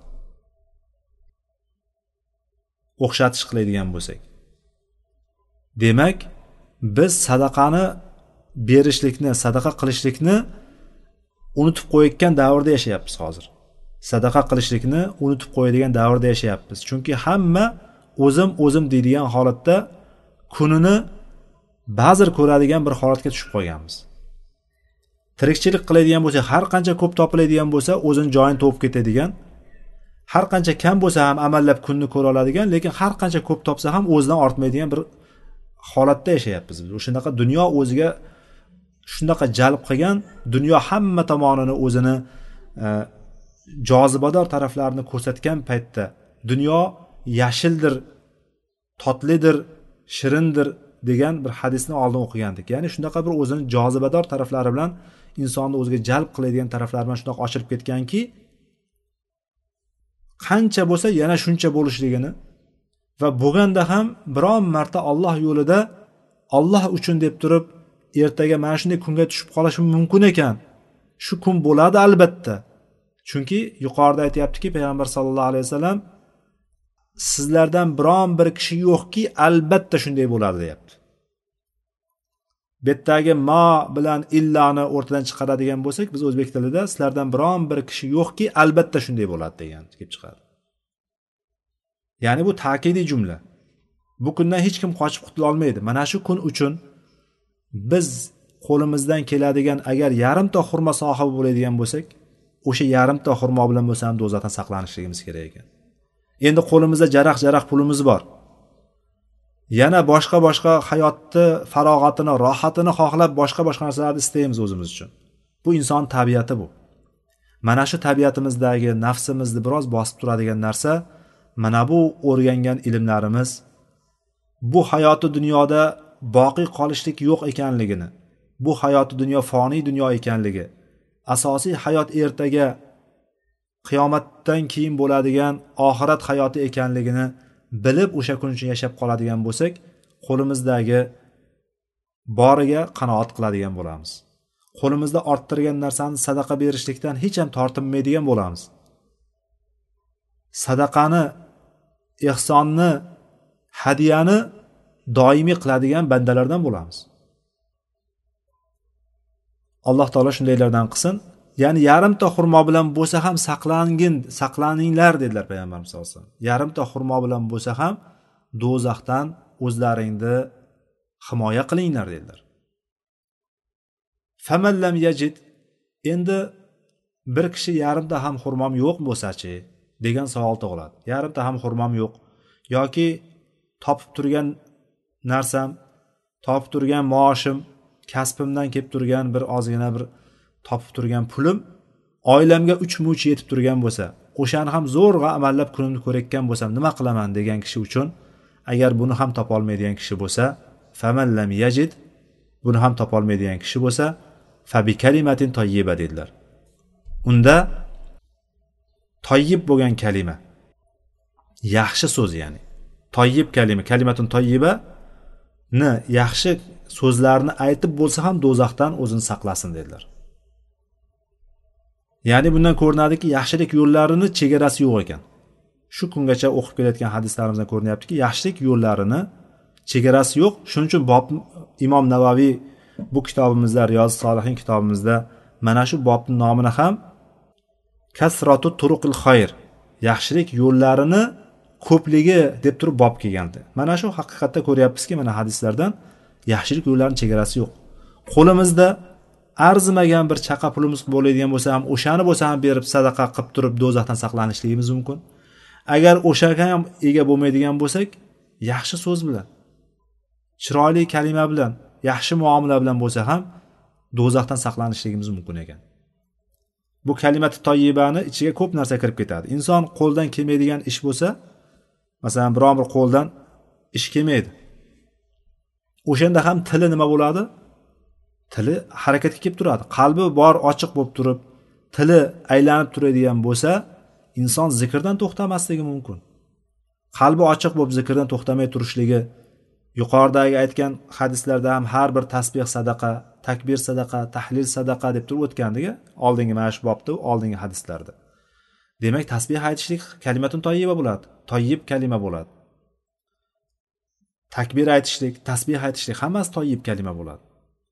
O'xshatish qiladigan bo'lsak. Demak, biz sadaqani berishlikni, sadaqa qilishlikni unutib qo'yayotgan davrda yashayapmiz hozir. Sadaqa qilishlikni unutib qo'yadigan davrda yashayapmiz. Chunki hamma o'zim deydigan holatda kunini ba'zir ko'radigan bir holatga tushib qolganmiz. Tirikchilik qiladigan bo'lsa, har qancha ko'p topiladigan bo'lsa, o'zini joyini topib ketadigan, har qancha kam bo'lsa ham amallab kunni ko'ra oladigan, lekin har qancha ko'p topsa ham o'zidan ortmaydigan bir holatda yashayapmiz biz. O'shanaqa dunyo o'ziga shunaqa jalb qilgan, dunyo hamma tomonini o'zini jozibador taraflarini ko'rsatgan paytda, dunyo yashildir, totlidir, shirindir degan bir hadisni oldin o'qigandik. Ya'ni shunaqa bir o'zini jozibador taraflari bilan insonni o'ziga jalb qiladigan taraflari bilan shunaqa ochilib ketganki, qancha bo'lsa yana shuncha bo'lishligini va bo'lganda ham biron marta Alloh yo'lida Alloh uchun deb turib ertaga mana shunday kunga tushib qolishi mumkin ekan. Shu kun bo'ladi albatta. Chunki yuqorida aytayaptiki payg'ambar sallallohu alayhi vasallam, sizlardan biron bir kishi yo'qki albatta shunday bo'ladi deyapti. Betdagi ma bilan illani o'rtadan chiqaradigan bo'lsak, biz o'zbek tilida sizlardan biron bir kishi yo'qki albatta shunday bo'ladi degan kelib chiqadi. Ya'ni bu ta'kidiy jumla. Bu kundan hech kim qochib qutula olmaydi. Mana shu kun uchun biz qo'limizdan keladigan agar yarimta xurmo sohibi bo'ladigan bo'lsak, o'sha yarimta xurmo bilan bo'lsa ham do'zaxdan saqlanishligimiz kerak ekan. Endi qo'limizda jaraq pulimiz bor. Yana boshqa hayotni farog'atini, rohatini xohlab boshqa narsalarni istaymiz o'zimiz uchun. Bu inson tabiati bu. Mana shu tabiatimizdagi nafsimizni biroz bosib turadigan narsa mana bu o'rgangan ilmlarimiz, bu hayoti dunyoda boqiy qolishlik yo'q ekanligini, bu hayoti dunyo foniy dunyo ekanligi, asosiy hayot ertaga qiyomatdan keyin bo'ladigan oxirat hayoti ekanligini bilib o'sha kun uchun yashab qoladigan bo'lsak, qo'limizdagi boriga qanoat qiladigan bo'lamiz. Qo'limizda orttirgan narsani sadaqa berishlikdan hech ham tortinmaydigan bo'lamiz. Sadaqani, ihsonni hadiyani doimiy qiladigan bandalardan bo'lamiz. Alloh taolo shundaylardan qilsin. Ya'ni yarimta xurmo bilan bo'lsa ham saqlaninglar dedilar payg'ambarimiz sollallohu alayhi vasallam. Yarimta xurmo bilan bo'lsa ham do'zaxdan o'zlaringni himoya qilinglar dedilar. Faman lam yajid, endi bir kishi yarimta ham xurmom yo'q bo'lsa-chi degan savol tug'iladi. Yarimta ham xurmom yo'q yoki topib turgan narsam, topib turgan maoshim, kasbimdan kelib turgan bir ozgina bir topib turgan pulim oilamga 3 murch yetib turgan bo'lsa, o'shani ham zo'rg'a amallab kunimni ko'rayotgan bo'lsam nima qilaman degan kishi uchun, agar buni ham topa olmaydigan kishi bo'lsa, faman lam yajid, buni ham topa olmaydigan kishi bo'lsa, fa bi kalimatin tayyiba dedilar. Unda tayyib bo'lgan kalima, yaxshi so'z, ya'ni tayyib kalima, kalimatun tayyiba ni yaxshi so'zlarni aytib bo'lsa ham do'zaxdan o'zini saqlasin dedilar. Ya'ni bundan ko'rinadiki, yaxshilik yo'llarini chegarasi yo'q ekan. Shu kungacha o'qib kelayotgan hadislarimizdan ko'rinyaptiki, yaxshilik yo'llarini chegarasi yo'q. Shuning uchun Imom Navaviy bu kitobimizda, Riyozis Solihin kitobimizda mana shu bobning nomini ham kasratu turuqil xayr, yaxshilik yo'llarini ko'pligi deb turib bob kelgandi. Mana shu haqiqatda ko'ryapmizki, mana hadislardan yaxshilik yo'llarining chegarasi yo'q. Qo'limizda arzimagan bir chaqa pulimiz bo'ladigan bo'lsa ham, o'shani bo'lsa ham berib sadaqa qilib turib do'zaxdan saqlanishligimiz mumkin. Agar o'shaga ham ega bo'lmaydigan bo'lsak, yaxshi so'z bilan, chiroyli kalima bilan, yaxshi muomala bilan bo'lsa ham do'zaxdan saqlanishligimiz mumkin ekan. Bu kalimati toyyibani ichiga ko'p narsa kirib ketadi. Inson qo'ldan kelmaydigan ish bo'lsa, masalan, biron bir qo'ldan ish kelmaydi. O'shanda ham tili nima bo'ladi? Tili harakatga kelib turadi. Qalbi bor, ochiq bo'lib turib, tili aylanib turadigan bo'lsa, inson zikrdan to'xtamasligi mumkin. Qalbi ochiq bo'lib zikrdan to'xtamay turishligi, yuqoridagi aytgan hadislarda ham har bir tasbih sadaqa, takbir sadaqa, tahlil sadaqa deb turib o'tgandiga, oldingi mana shu bobda, oldingi hadislarda. Demak, tasbih aytishlik kalimatun tayyiba bo'ladi. Tayyib kalima bo'ladi. Takbir aytishlik, tasbih aytishlik hammasi tayyib kalima bo'ladi.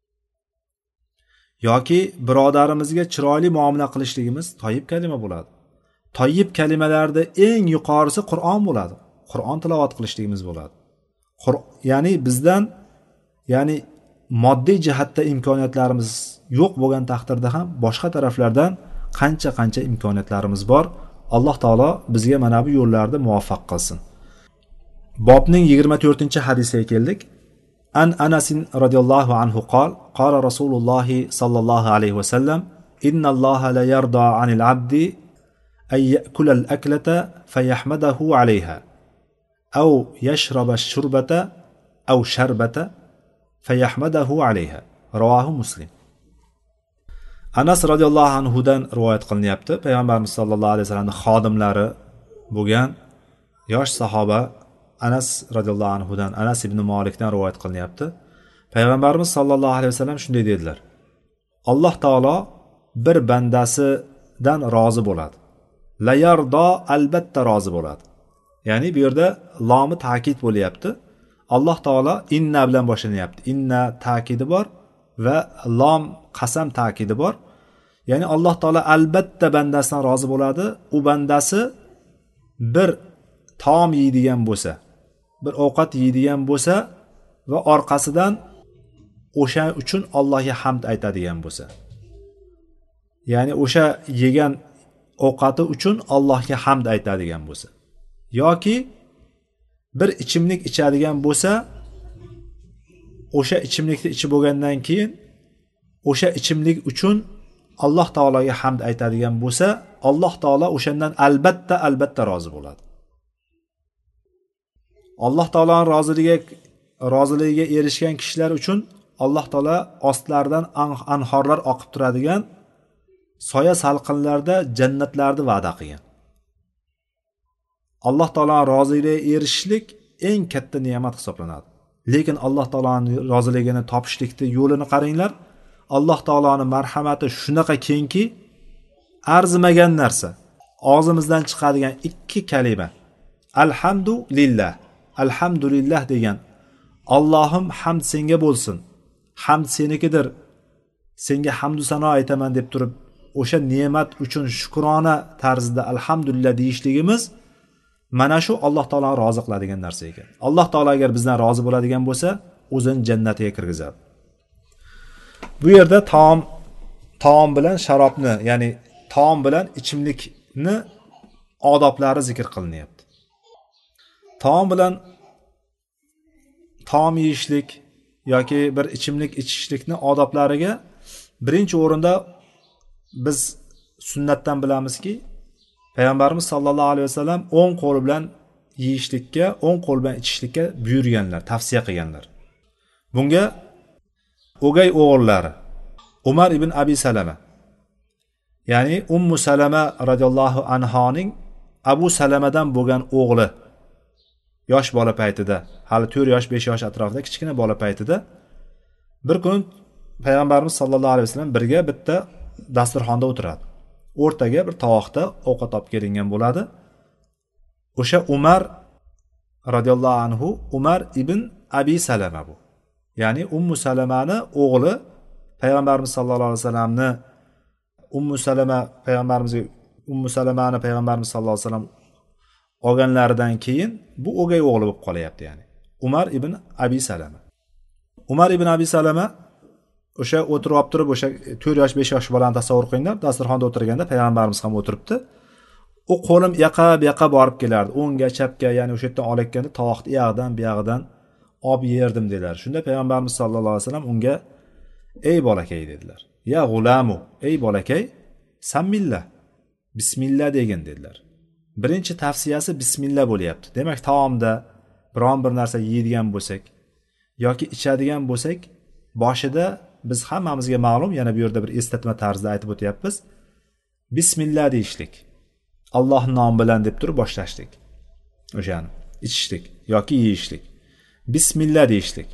Yoki birodarimizga chiroyli muomala qilishligimiz tayyib kalima bo'ladi. Tayyib kalimalarda eng yuqorisi Qur'on bo'ladi. Qur'on tilovat qilishligimiz bo'ladi. Ya'ni bizdan, ya'ni moddiy jihatda imkoniyatlarimiz yo'q bo'lgan taqdirda ham boshqa taraflardan qancha imkoniyatlarimiz bor. Alloh taolo bizga mana bu yo'llarda muvaffaq qilsin. Bobning 24-hadisiga keldik. An Anas radhiyallohu anhu qala Rasululloh sallallohu alayhi va sallam innalloha la yarda 'anil 'abdi ay ya'kula al-aklata fayahmadahu 'alayha aw yashraba ash-shurbata aw sharbata fayahmadahu 'alayha. Rawahu Muslim. Anas radhiyallohu anhu dan rivoyat qilinyapti. Payg'ambarimiz sollallohu alayhi vasallamning xodimlari bo'lgan yosh sahoba Anas radhiyallohu anhu dan, Anas ibn Malikdan rivoyat qilinyapti. Payg'ambarimiz sollallohu alayhi vasallam shunday dedilar: Alloh taolo bir bandasidan rozi bo'ladi. La yardo, albatta rozi bo'ladi. Ya'ni bu yerda lomi ta'kid bo'lyapti. Alloh taolo inna bilan boshlanyapti. Inna ta'kidi bor va lom qasam ta'kidi bor. Ya'ni Alloh taolo albatta bandasidan rozi bo'ladi. U bandasi bir taom yeydigan bo'lsa, bir ovqat yeydigan bo'lsa va orqasidan o'sha uchun Allohga hamd aytadigan bo'lsa. Ya'ni o'sha yegan ovqati uchun Allohga hamd aytadigan bo'lsa. Yoki bir ichimlik ichadigan bo'lsa, o'sha ichimlikni ichib bo'lgandan keyin o'sha ichimlik uchun Alloh taologa hamd aytadigan bo'lsa, Alloh taolo o'shandan albatta rozi bo'ladi. Alloh taoloning roziligiga erishgan kishilar uchun Alloh taolo ostlaridan anhorlar oqib turadigan soya salqinlarda jannatlarni va'da qilgan. Alloh taoloning roziligiga erishishlik eng katta ne'mat hisoblanadi. Lekin Alloh taoloning roziligini topishlikni yo'lini qaranglar. Alloh taoloning marhamati shunaqa kengki, arzimagan narsa, og'zimizdan chiqadigan ikki kalima, alhamdulillah, alhamdulillah degan, Allohim hamd senga bo'lsin, hamd senikidir, senga hamdu sano aytaman deb turib o'sha ne'mat uchun shukrona tarzida alhamdulillah deyishligimiz mana shu Alloh taoloni rozi qiladigan narsa ekan. Alloh taolo agar bizdan rozi bo'ladigan bo'lsa, o'zini jannatiga kirgizadi. Bu yerda taom bilan sharobni, ya'ni taom bilan ichimlikni odoblari zikr qilinyapti. Taom yeyishlik yoki bir ichimlik ichishlikni odoblariga birinchi o'rinda biz sunnatdan bilamizki, payg'ambarimiz sollallohu alayhi vasallam o'ng qo'li bilan yeyishlikka, o'ng qo'l bilan ichishlikka buyurganlar, tavsiya qilganlar. Bunga o'gay o'g'illari Umar ibn Abi Salama, ya'ni Ummu Salama radhiyallohu anhoning Abu Salamadan bo'lgan o'g'li, yosh bola paytida, hali 4 yosh 5 yosh atrofida kichkina bola paytida bir kun payg'ambarimiz sollallohu alayhi vasallam birga bitta dasturxonda o'tiradi. O'rtaga bir tovoqda ovqat olib kelingan bo'ladi. O'sha Umar radhiyallohu anhu Umar ibn Abi Salama bu. Ya'ni Ummu Salamani o'g'li, payg'ambarimiz sollallohu alayhi vasallamni Ummu Salamani payg'ambarimiz sollallohu alayhi vasallam olganlaridan keyin bu o'gay o'g'li bo'lib qolyapti, ya'ni Umar ibn Abi Salama. Umar ibn Abi Salama o'sha o'tirib turib, o'sha 4 yosh 5 yosh bolani tasavvur qilinglar, dasturxonda o'tirganda payg'ambarimiz ham o'tiribdi. U qo'lim yaqa borib kelardi, o'ngga, chapga, ya'ni o'sha yerdan olayotganda tovoqni yog'idan, bu yog'idan olib yerdim dedilar. Shunda payg'ambarimiz sollallohu alayhi vasallam unga ey bolakay dedilar. Ya g'ulamu, ey bolakay, sammillah, bismillah degin dedilar. Birinchi tavsiyasi bismillah bo'lyapti. Demak, taomda biron bir narsa yeydigan bo'lsak yoki ichadigan bo'lsak, boshida biz hammamizga ma'lum, yana bu yerda bir eslatma tarzida aytib o'tyapmiz. Bismillah deyishlik. Alloh nomi bilan deb turib boshlashlik. O'shani ichishlik yoki yeyishlik. Bismillah deyishlik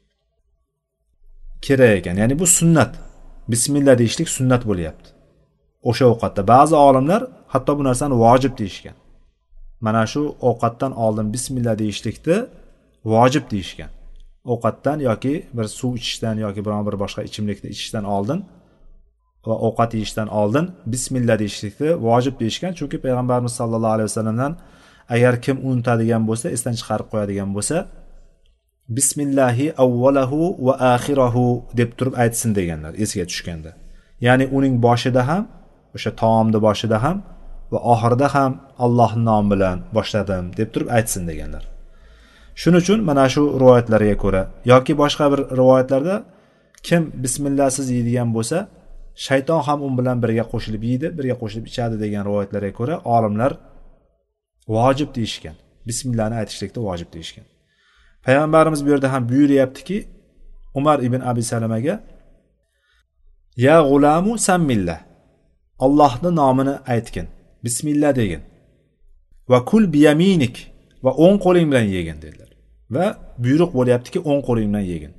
kerak ekan. Ya'ni bu sunnat. Bismillah deyishlik sunnat bo'lyapti. O'sha ovqatda ba'zi olimlar hatto bu narsani vojib deyishgan. Mana shu ovqatdan oldin bismillah deyishlikni vojib deyishgan. Ovqatdan yoki bir suv ichishdan yoki biron bir boshqa ichimlikni ichishdan oldin va ovqat yeyishdan oldin bismillah deyishlikni vojib deyishgan. Chunki payg'ambarimiz sollallohu alayhi vasallamdan agar kim unutadigan bo'lsa, esdan chiqarib qo'yadigan bo'lsa, bismillahi avvalahu va axirahu deb turib aytsin deganlar esiga tushganda. Ya'ni uning boshida ham, o'sha taomni boshida ham va oxirida ham Allohning nomi bilan boshladim deb turib aytsin deganlar. Shuning uchun mana shu rivoyatlarga ko'ra yoki boshqa bir rivoyatlarda kim bismillahsiz yeydigan bo'lsa, shayton ham u bilan birga qo'shilib yeydi, birga qo'shilib ichadi degan rivoyatlarga ko'ra olimlar vojib deyishgan. Bismillahni aytishlikda vojib deyishgan. Payg'ambarimiz bu yerda ham buyuryaptiki, Umar ibn Abi Salamaga ya g'ulamu sammillah, Allohning nomini aytgin, bismillah degin. Va kul biyaminik, va o'ng qo'ling bilan yegin dedilar. Va buyruq bo'lyaptiki, o'ng qo'ling bilan yegin.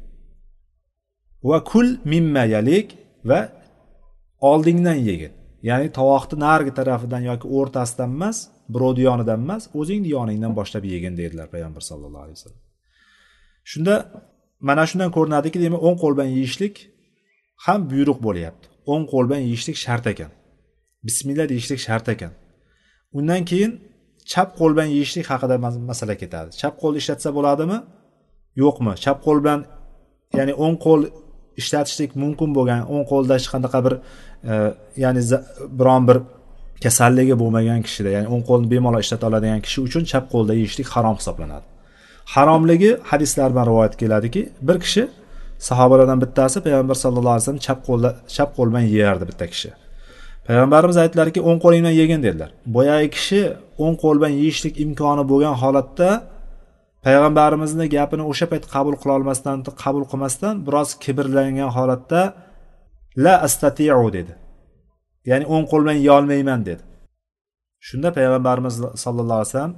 Va kul mimma yalik, va oldingdan yegin. Ya'ni tovoqni narigi tarafidan yoki o'rtasidan emas, birovni yonidan emas, o'zingning yoningdan boshlab yegin dedilar payg'ambar sollallohu alayhi vasallam. Shunda mana shundan ko'rinadiki, demak, o'ng qo'l bilan yeyishlik ham buyruq bo'lyapti. O'ng qo'l bilan yeyishlik shart ekan. Bismillah deyishlik shart ekan. Undan keyin chap qo'l bilan yeyishlik haqida masala ketadi. Chap qo'l ishlatsa bo'ladimi? Yo'qmi? Chap qo'l bilan, ya'ni o'ng qo'l ishlatishlik mumkin bo'lgan, o'ng qo'lda hech qanaqa bir ya'ni biron bir kasalligi bo'lmagan kishida, ya'ni o'ng qo'lni bemalol ishlata oladigan kishi uchun chap qo'lda yeyishlik harom hisoblanadi. Haromligi hadislar bilan rivoyat keladiki, bir kishi sahobalardan bittasi payg'ambar sollallohu alayhi vasallam chap qo'l bilan yerdi bitta kishi. Payg'ambarimiz aytdilarki, o'ng qo'ling bilan yegin dedilar. Boyagi kishi o'ng qo'l bilan yeyishlik imkoni bo'lgan holatda payg'ambarimizning gapini o'sha payt qabul qilmasdan biroz kibrlangan holatda la astati'u dedi. Ya'ni o'ng qo'l bilan yeya olmayman dedi. Shunda payg'ambarimiz sollallohu alayhi vasallam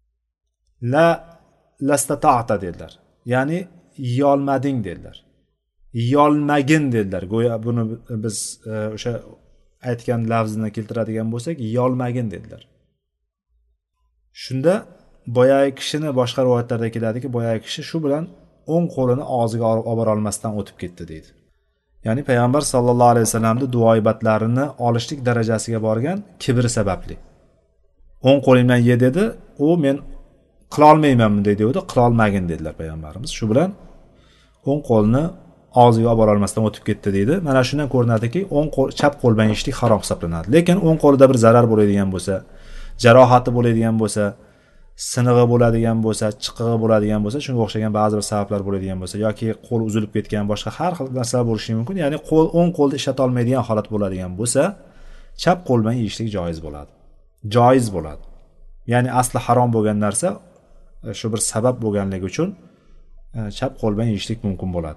lastata'ta dedilar. Ya'ni yeya olmading dedilar. Yeya olmagin dedilar. Go'yo buni biz o'sha aytgan lafzini keltiradigan bo'lsak, yeya olmagin dedilar. Shunda boyagi kishini boshqa rivoyatlarda keladiki, boyagi kishi shu bilan o'ng qo'lini og'ziga olib bora olmasdan o'tib ketdi deydi. Ya'ni payg'ambar sallallohu alayhi vasallamning duoibatlarini olishlik darajasiga borgan kibri sababli. O'ng qo'ling bilan ye dedi, u men qila olmaymanmi dedi, qila olmagin dedilar payg'ambarimiz. Shu bilan o'ng qo'lni og'ziga olib bora olmasdan o'tib ketdi deydi. Mana shundan ko'rinadiki, chap qo'l bilan yeyishlik harom hisoblanadi. Lekin o'ng qo'lida bir zarar bo'ladigan bo'lsa, jarohati bo'ladigan bo'lsa, sinig'i bo'ladigan bo'lsa, chiqig'i bo'ladigan bo'lsa, shunga o'xshagan ba'zi bir sabablar bo'ladigan bo'lsa yoki qo'l uzilib ketgan, boshqa har xil narsalar bo'lishi mumkin. Ya'ni o'ng qo'lni ishlata olmaydigan holat bo'ladigan bo'lsa, chap qo'l bilan yeyishlik joiz bo'ladi. Joiz bo'ladi. Ya'ni asli harom bo'lgan narsa shu bir sabab bo'lganligi uchun chap qo'l bilan yeyishlik mumkin bo'ladi.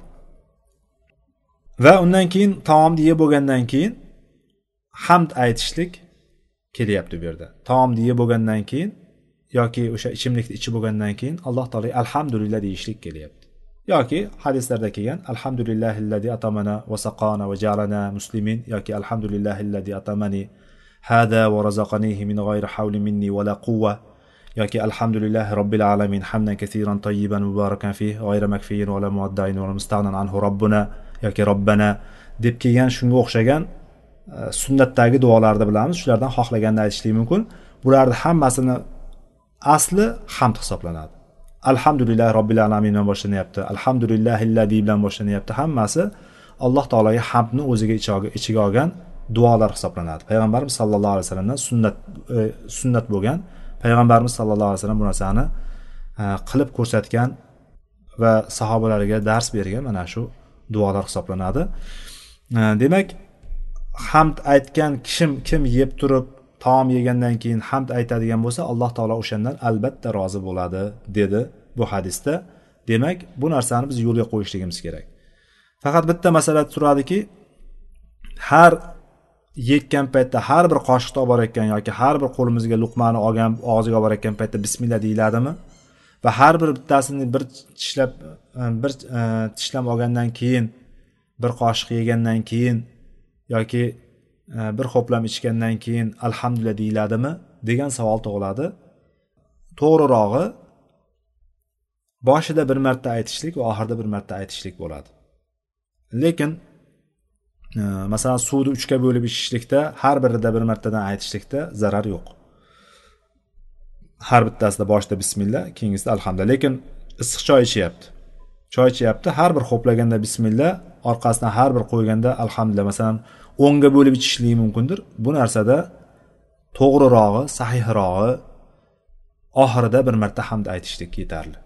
Va undan keyin taomni yeb bo'lgandan keyin hamd aytishlik kelyapti bu yerda. Taomni yeb bo'lgandan keyin yoki o'sha ichimlikni ichib bo'lgandan keyin Alloh taolo alhamdulillah deyishlik kelyapti. Yoki hadislarda kelgan alhamdulillahillazi atamana va saqana va ja'alana muslimin yoki alhamdulillahillazi atamani hada va razaqanihi min g'ayri hawli minni va la quwwa yoki alhamdulillahi robbil alamin hamdan kaseeran tayyiban mubarakan fihi g'ayra makfiyin va la muaddain va musta'nan anhu robbuna yoki robbana deb kelgan shunga o'xshagan sunnatdagi duolarni bilamiz. Shulardan xohlaganda aytishlik mumkin. Bularning hammasini asli hamd hisoblanadi. Alhamdulillah robbil alamin bilan boshlanyapti. Alhamdulillahillazi bilan boshlanyapti. Hammasi Alloh taologa hamdni o'ziga ichiga olgan duolar hisoblanadi. Payg'ambarimiz sallallohu alayhi vasallamdan sunnat bo'lgan. Payg'ambarimiz sallallohu alayhi vasallam bu narsani qilib ko'rsatgan va sahobalariga dars bergan mana shu duolar hisoblanadi. Demak, hamd aytgan kim yeb turib taom yegandan keyin hamd aytadigan bo'lsa, Alloh taolo o'shandan albatta rozi bo'ladi dedi bu hadisda. Demak, bu narsani biz yo'lga qo'yishligimiz kerak. Faqat bitta masala turadiki, har yetgan paytda har bir qoshiqni olib borayotgan yoki har bir qo'limizga luqmani olgan og'ziga olib borayotgan paytda bismillah deyiladimi? Va har bir bittasini bir tishlab olgandan keyin, bir qoshiq yegandan keyin yoki bir ho'plam ichgandan keyin alhamdulillah deyiladimi degan savol tug'iladi. To'g'rirog'i boshida bir marta aytishlik va oxirida bir marta aytishlik bo'ladi. Lekin masalan suvni 3 ga bo'lib ichishlikda har birida bir martadan aytishlikda zarar yo'q. Har bittasida boshida bismillah, keyingisida alhamdulillah. Lekin issiq choy ichyapti. Har bir ho'plaganda bismillah, orqasidan har bir qo'yganda alhamdulillah. Masalan 10 ga bo'lib ichishligi mumkindir. Bu narsada to'g'rirog'i, sahihrog'i oxirida bir marta hamd aytishlik yetarli.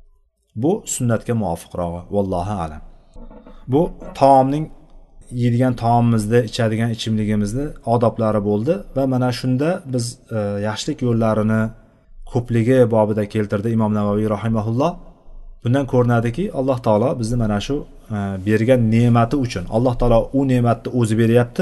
Bu sunnatga muvofiqrog'i, vallohu alam. Bu taomning yeydigan taomimizni, ichadigan ichimligimizni odoblari bo'ldi va mana shunda biz yaxshilik yo'llarini ko'pligi bobida keltirdi Imom Navoiy rahimahulloh. Bundan ko'rinadiki, Alloh taolo bizni mana shu bergan ne'mati uchun, Alloh taolo u ne'matni o'zi beryapti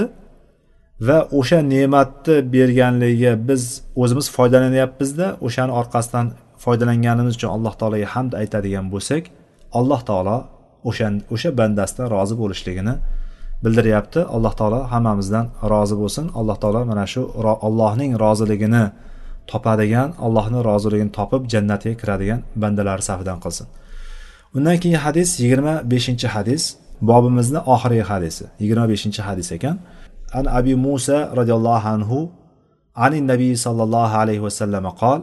va o'sha ne'matni berganligiga biz o'zimiz foydalanyapmiz-da, o'shaning orqasidan foydalanganimiz uchun Alloh taologa hamd aytadigan bo'lsak, Alloh taolo o'sha bandasidan rozi bo'lishligini bildiryapti. Alloh taolo hammamizdan rozi bo'lsin. Alloh taolo mana shu Allohning roziligini topadigan, Allohning roziligini topib jannatga kiradigan bandalar safidan qilsin. Undan keyin hadis 25-hadis, bobimizning oxirgi hadisi, 25-hadis ekan. An Abi Musa radhiyallohu anhu anin nabiy sallallohu alayhi va sallam qol: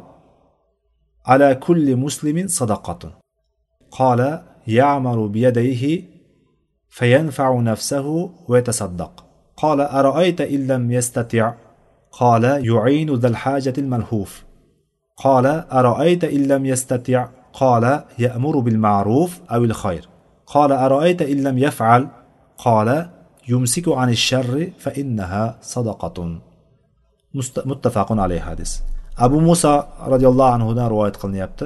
"Ala kulli muslimin sadaqatun." Qala ya'malu bi yadayhi fayanfa'u nafsahu wa yatasaddaq. Qala ara'ayta illam yastati'. Qala yu'inu dhal hajati al-malhuf. Qala ara'ayta illam yastati'. Qala ya'muru bil ma'ruf aw al khayr. Qala ara'ayta illam yaf'al. Qala yumsiku 'ani ash-sharri fa innaha sadaqatun. Muttafaqun alayhi hadis. Abu Musa radhiyallohu anhu dan rivoyat qilinyapti.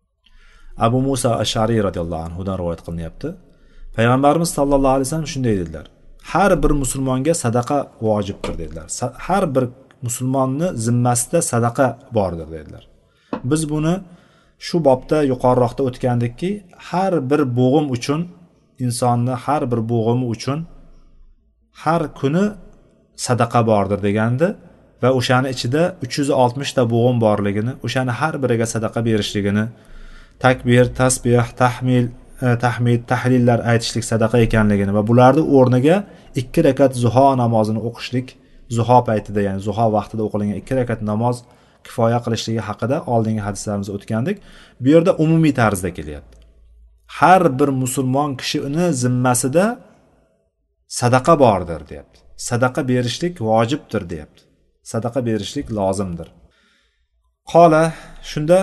Abu Musa Ash'ari radhiyallohu anhu dan rivoyat qilinyapti. Payg'ambarimiz sallallohu alayhi vasallam shunday dedilar: har bir musulmonga sadaqa vojibdir dedilar. Har bir musulmonni zimmasida sadaqa bordir dedilar. Biz buni shu bobda yuqoriroqda o'tgandikki, har bir bo'g'im uchun, insonni har bir bo'g'imi uchun har kuni sadaqa bordir degandi va o'shani ichida 360 ta bo'g'in borligini, o'shani har biriga sadaqa berishligini, takbir, tasbih, tahmid, tahlillar aytishlik sadaqa ekanligini va bularni o'rniga 2 rakat zuho namozini o'qishlik, zuho paytida, ya'ni zuho vaqtida o'qilgan 2 rakat namoz kifoya qilishligi haqida oldingi hadislarimizda o'tgandik. Bu yerda umumiy tarzda kelyapti. Har bir musulmon kishi uni zimmasida sadaqa bordir, deyapti. Sadaqa berishlik vojibdir, deyapti. Sadaqa berishlik lozimdir. Qola, shunda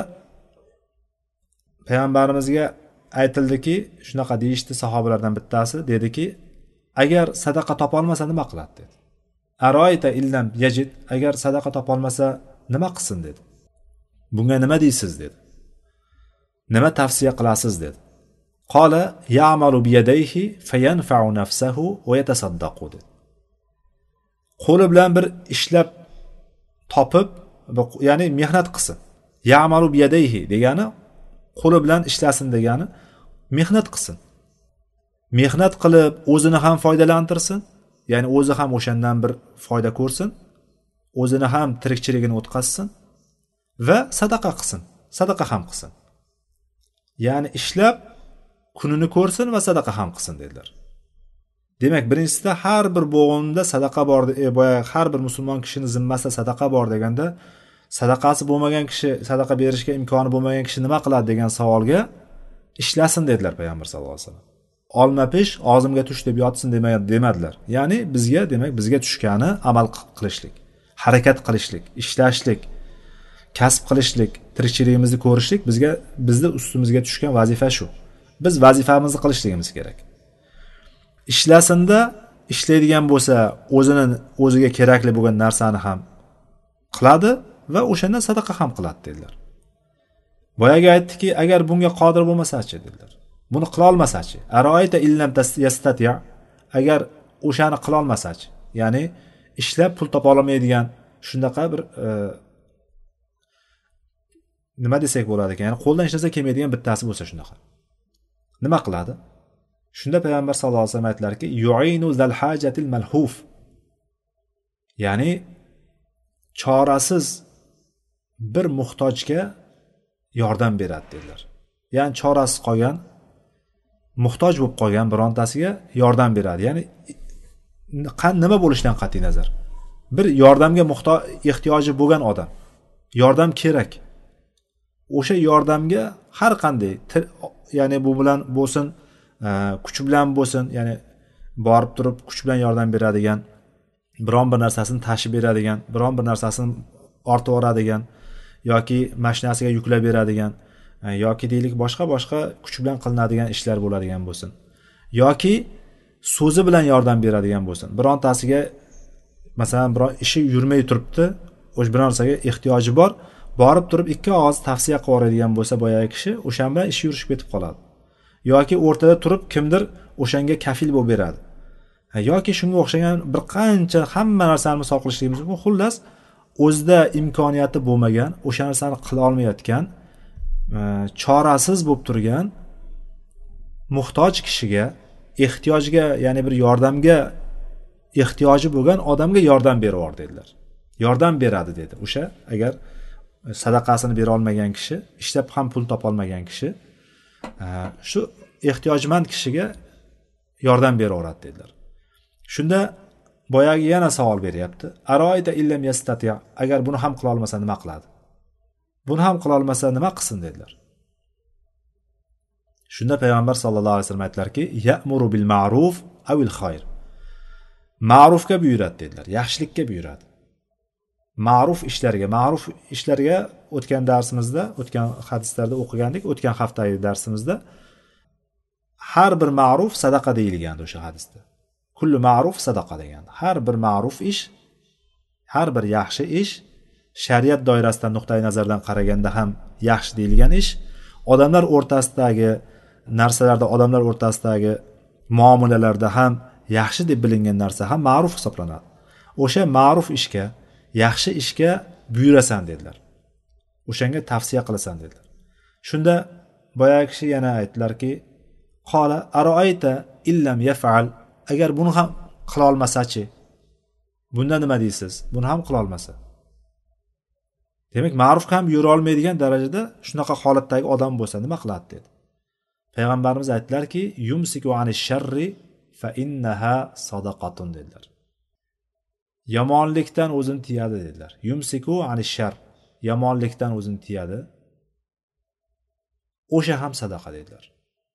payg'ambarimizga aytildiki, shunaqa deyishdi sahobalardan bittasi, dediki, agar sadaqa topolmasa nima qiladi dedi. Aroyta illam yajid, agar sadaqa topolmasa nima qilsin dedi. Bunga nima deysiz dedi. Nima tavsiya qilasiz dedi. Qola ya'malu bi yadayhi fayanfa'u nafsahu va yatasaddaqu dedi. Qo'li bilan bir ishlab topib, ya'ni mehnat qilsin. Ya'malu bi yadayhi degani qo'li bilan ishlasin degani, mehnat qilsin. Mehnat qilib o'zini ham foydalantirsin, ya'ni o'zi ham o'shandan bir foyda ko'rsin, o'zini ham tirikchiligini o'tkazsin va sadaqa qilsin. Sadaqa ham qilsin. Ya'ni ishlab kunini ko'rsin va sadaqa ham qilsin dedilar. Demak, birinchisida har bir bo'g'inda sadaqa bor, boya har bir musulmon kishining zimmasida sadaqa bor deganda, sadaqasi bo'lmagan kishi, sadaqa berishga imkoni bo'lmagan kishi nima qiladi degan savolga ishlasin dedilar payg'ambar sollallohu alayhi vasallam. Olma pish og'zimga tush deb yotsin demadilar. Ya'ni bizga, demak, bizga tushgani amal qilishlik, harakat qilishlik, ishlashlik, kasb qilishlik, tirikchiligimizni ko'rishlik bizni ustimizga tushgan vazifa shu. Biz vazifamizni qilishligimiz kerak. Ishlasinda ishlaydigan bo'lsa, o'ziga kerakli bo'lgan narsani ham qiladi va o'shandan sadaqa ham qiladi dedilar. Boyaga aytdiki, agar bunga qodir bo'lmasa-chi dedilar. Buni qila olmasa-chi? Aroyta illam yastati', agar o'shani qila olmasa-chi? Ya'ni ishlab pul topa olmaydigan shunaqa bir nima desak bo'ladi ekan? Ya'ni qo'ldan ishlasa kelmaydigan bittasi bo'lsa shunaqa. Nima qiladi? Shunda payg'ambar sollallohu alayhi vasallam aytlarki, yu'inu zal hajatil malhuf. Ya'ni chorasiz bir muhtojga yordam beradi dedilar. Ya'ni chorasiz qolgan, muhtoj bo'lib qolgan birontasiga yordam beradi. Ya'ni nima bo'lishidan qat'iy nazar, bir yordamga ehtiyoji bo'lgan odam, yordam kerak. O'sha yordamga har qanday, ya'ni bu bilan bo'lsin, kuch bilan bo'lsin, ya'ni borib turib kuch bilan yordam beradigan, biron bir narsasini tashib beradigan, biron bir narsasini ortib yuboradigan yoki mashinasiga yuklab beradigan, yoki deylik boshqa kuch bilan qilinadigan ishlar bo'ladigan bo'lsin, yoki so'zi bilan yordam beradigan bo'lsin. Birontasiga masalan biror ishi yurmay turibdi, o'sha bir narsaga ehtiyoji bor, borib turib ikki og'iz tavsiya qilib yuboradigan bo'lsa boyagi kishi, o'shan bilan ishi yurishib ketib qoladi. Yoki o'rtada turib kimdir o'shanga kafil bo'lib beradi. Yoki shunga o'xshagan bir qancha hamma narsani misol qilishligimiz mumkin. Xullas, o'zida imkoniyati bo'lmagan, o'sha narsani qila olmayotgan, chorasiz bo'lib turgan muhtoj kishiga, ehtiyojga, ya'ni bir yordamga ehtiyoji bo'lgan odamga yordam berib dedilar. Yordam beradi dedi. O'sha agar sadaqasini bera olmagan kishi, ishlab ham pul topa olmagan kishi, shu ehtiyojmand kishiga yordam beraveradi dedilar. Shunda boyagi yana savol beryapti. Aroyta illam yastati', agar buni ham qila olmasa nima qiladi? Buni ham qila olmasa nima qilsin dedilar. Shunda payg'ambar sollallohu alayhi vasallam aytlarki, ya'muru bil ma'ruf avil xayr. Ma'rufga buyuradi dedilar, yaxshilikka buyuradi. Ma'ruf ishlarga o'tgan darsimizda, o'tgan hadislarda o'qigandik, o'tgan haftadagi darsimizda har bir ma'ruf sadaqa deyilgandi o'sha hadisda. Kullu ma'ruf sadaqa degan. Har bir ma'ruf ish, har bir yaxshi ish shariat doirasidan nuqtai nazardan qaraganda ham yaxshi deyilgan ish, odamlar o'rtasidagi narsalarda, odamlar o'rtasidagi muomalalarda ham yaxshi deb bilingan narsa ham ma'ruf hisoblanadi. O'sha ma'ruf ishga, yaxshi ishga buyurasan dedilar. O'shanga tavsiya qilasan dedilar. Shunda boyagi kishi yana aytdilarki, qola aroayta illam yaf'al, agar buni ham qila olmasa-chi? Bunda nima deysiz? Buni ham qila olmasa. demak ma'ruf ham yurolmaydigan darajada shunaqa holatdagi odam bo'lsa nima qiladi dedi. Payg'ambarimiz aytdilarki, yumsiku ani sharri fa innaha sadaqatun dedilar. Yomonlikdan o'zini tiyadi dedilar. Yumsiku ani shar, yomonlikdan o'zini tiyadi. O'sha ham sadaqa dedilar.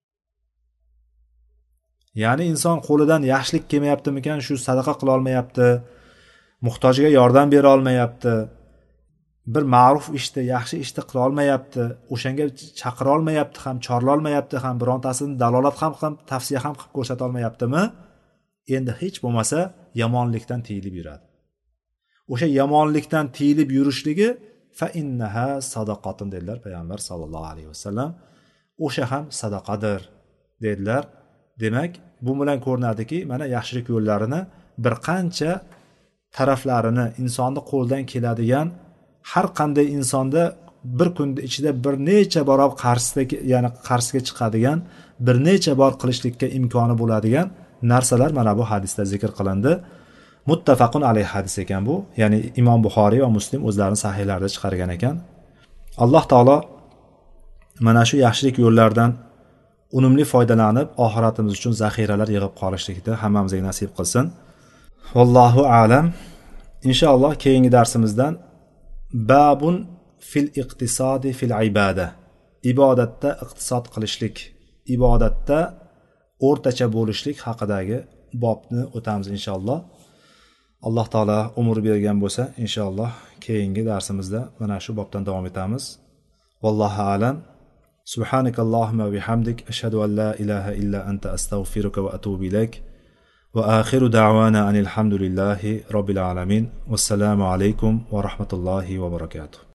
Ya'ni inson qo'lidan yaxshilik kelmayaptimikan, shu sadaqa qila olmayapti, muhtojga yordam bera olmayapti, bir ma'ruf ishni, yaxshi ishni qila olmayapti, o'shanga chaqira olmayapti ham, chorla olmayapti ham, birontasini dalolat ham tavsiya ham qilib ko'rsata olmayaptimi? Endi hech bo'lmasa yomonlikdan tiyilib yuradi. O'sha yomonlikdan tiyilib yurishligi fa innaha sadaqatun dedilar payg'ambar sollallohu alayhi vasallam. O'sha ham sadaqadir dedilar. Demak, bu bilan ko'rinadiki, mana yaxshilik yo'llarini bir qancha taraflarini insonni qo'ldan keladigan, har qanday insonda bir kun ichida bir necha bor qarshisiga chiqadigan, bir necha bor qilishlikka imkoni bo'ladigan narsalar mana bu hadisda zikr qilindi. Muttafaqun alayhi hadis ekan bu, ya'ni Imom Buxoriy va Muslim o'zlarining sahihlarida chiqargan ekan. Alloh taolo mana shu yaxshilik yo'llaridan unumli foydalanib, oxiratimiz uchun zaxiralar yig'ib qolishlikni hammamizga nasib qilsin. Vallohu a'lam. Inshaalloh keyingi darsimizdan babun fil iqtisodi fil ibada. Ibodatda iqtisod qilishlik, ibodatda o'rtacha bo'lishlik haqidagi bobni o'tamiz inshaalloh. Alloh taolo umr bergan bo'lsa, inshaalloh keyingi darsimizda mana shu bobdan davom etamiz. Vallohu a'lam. Subhanakallahumma va bihamdik ashhadu an la ilaha illa anta astaghfiruka va atubu ilayk. Wa akhiru da'wana anil hamdulillahi robbil alamin. Wassalamu alaykum va rahmatullohi va barakatuh.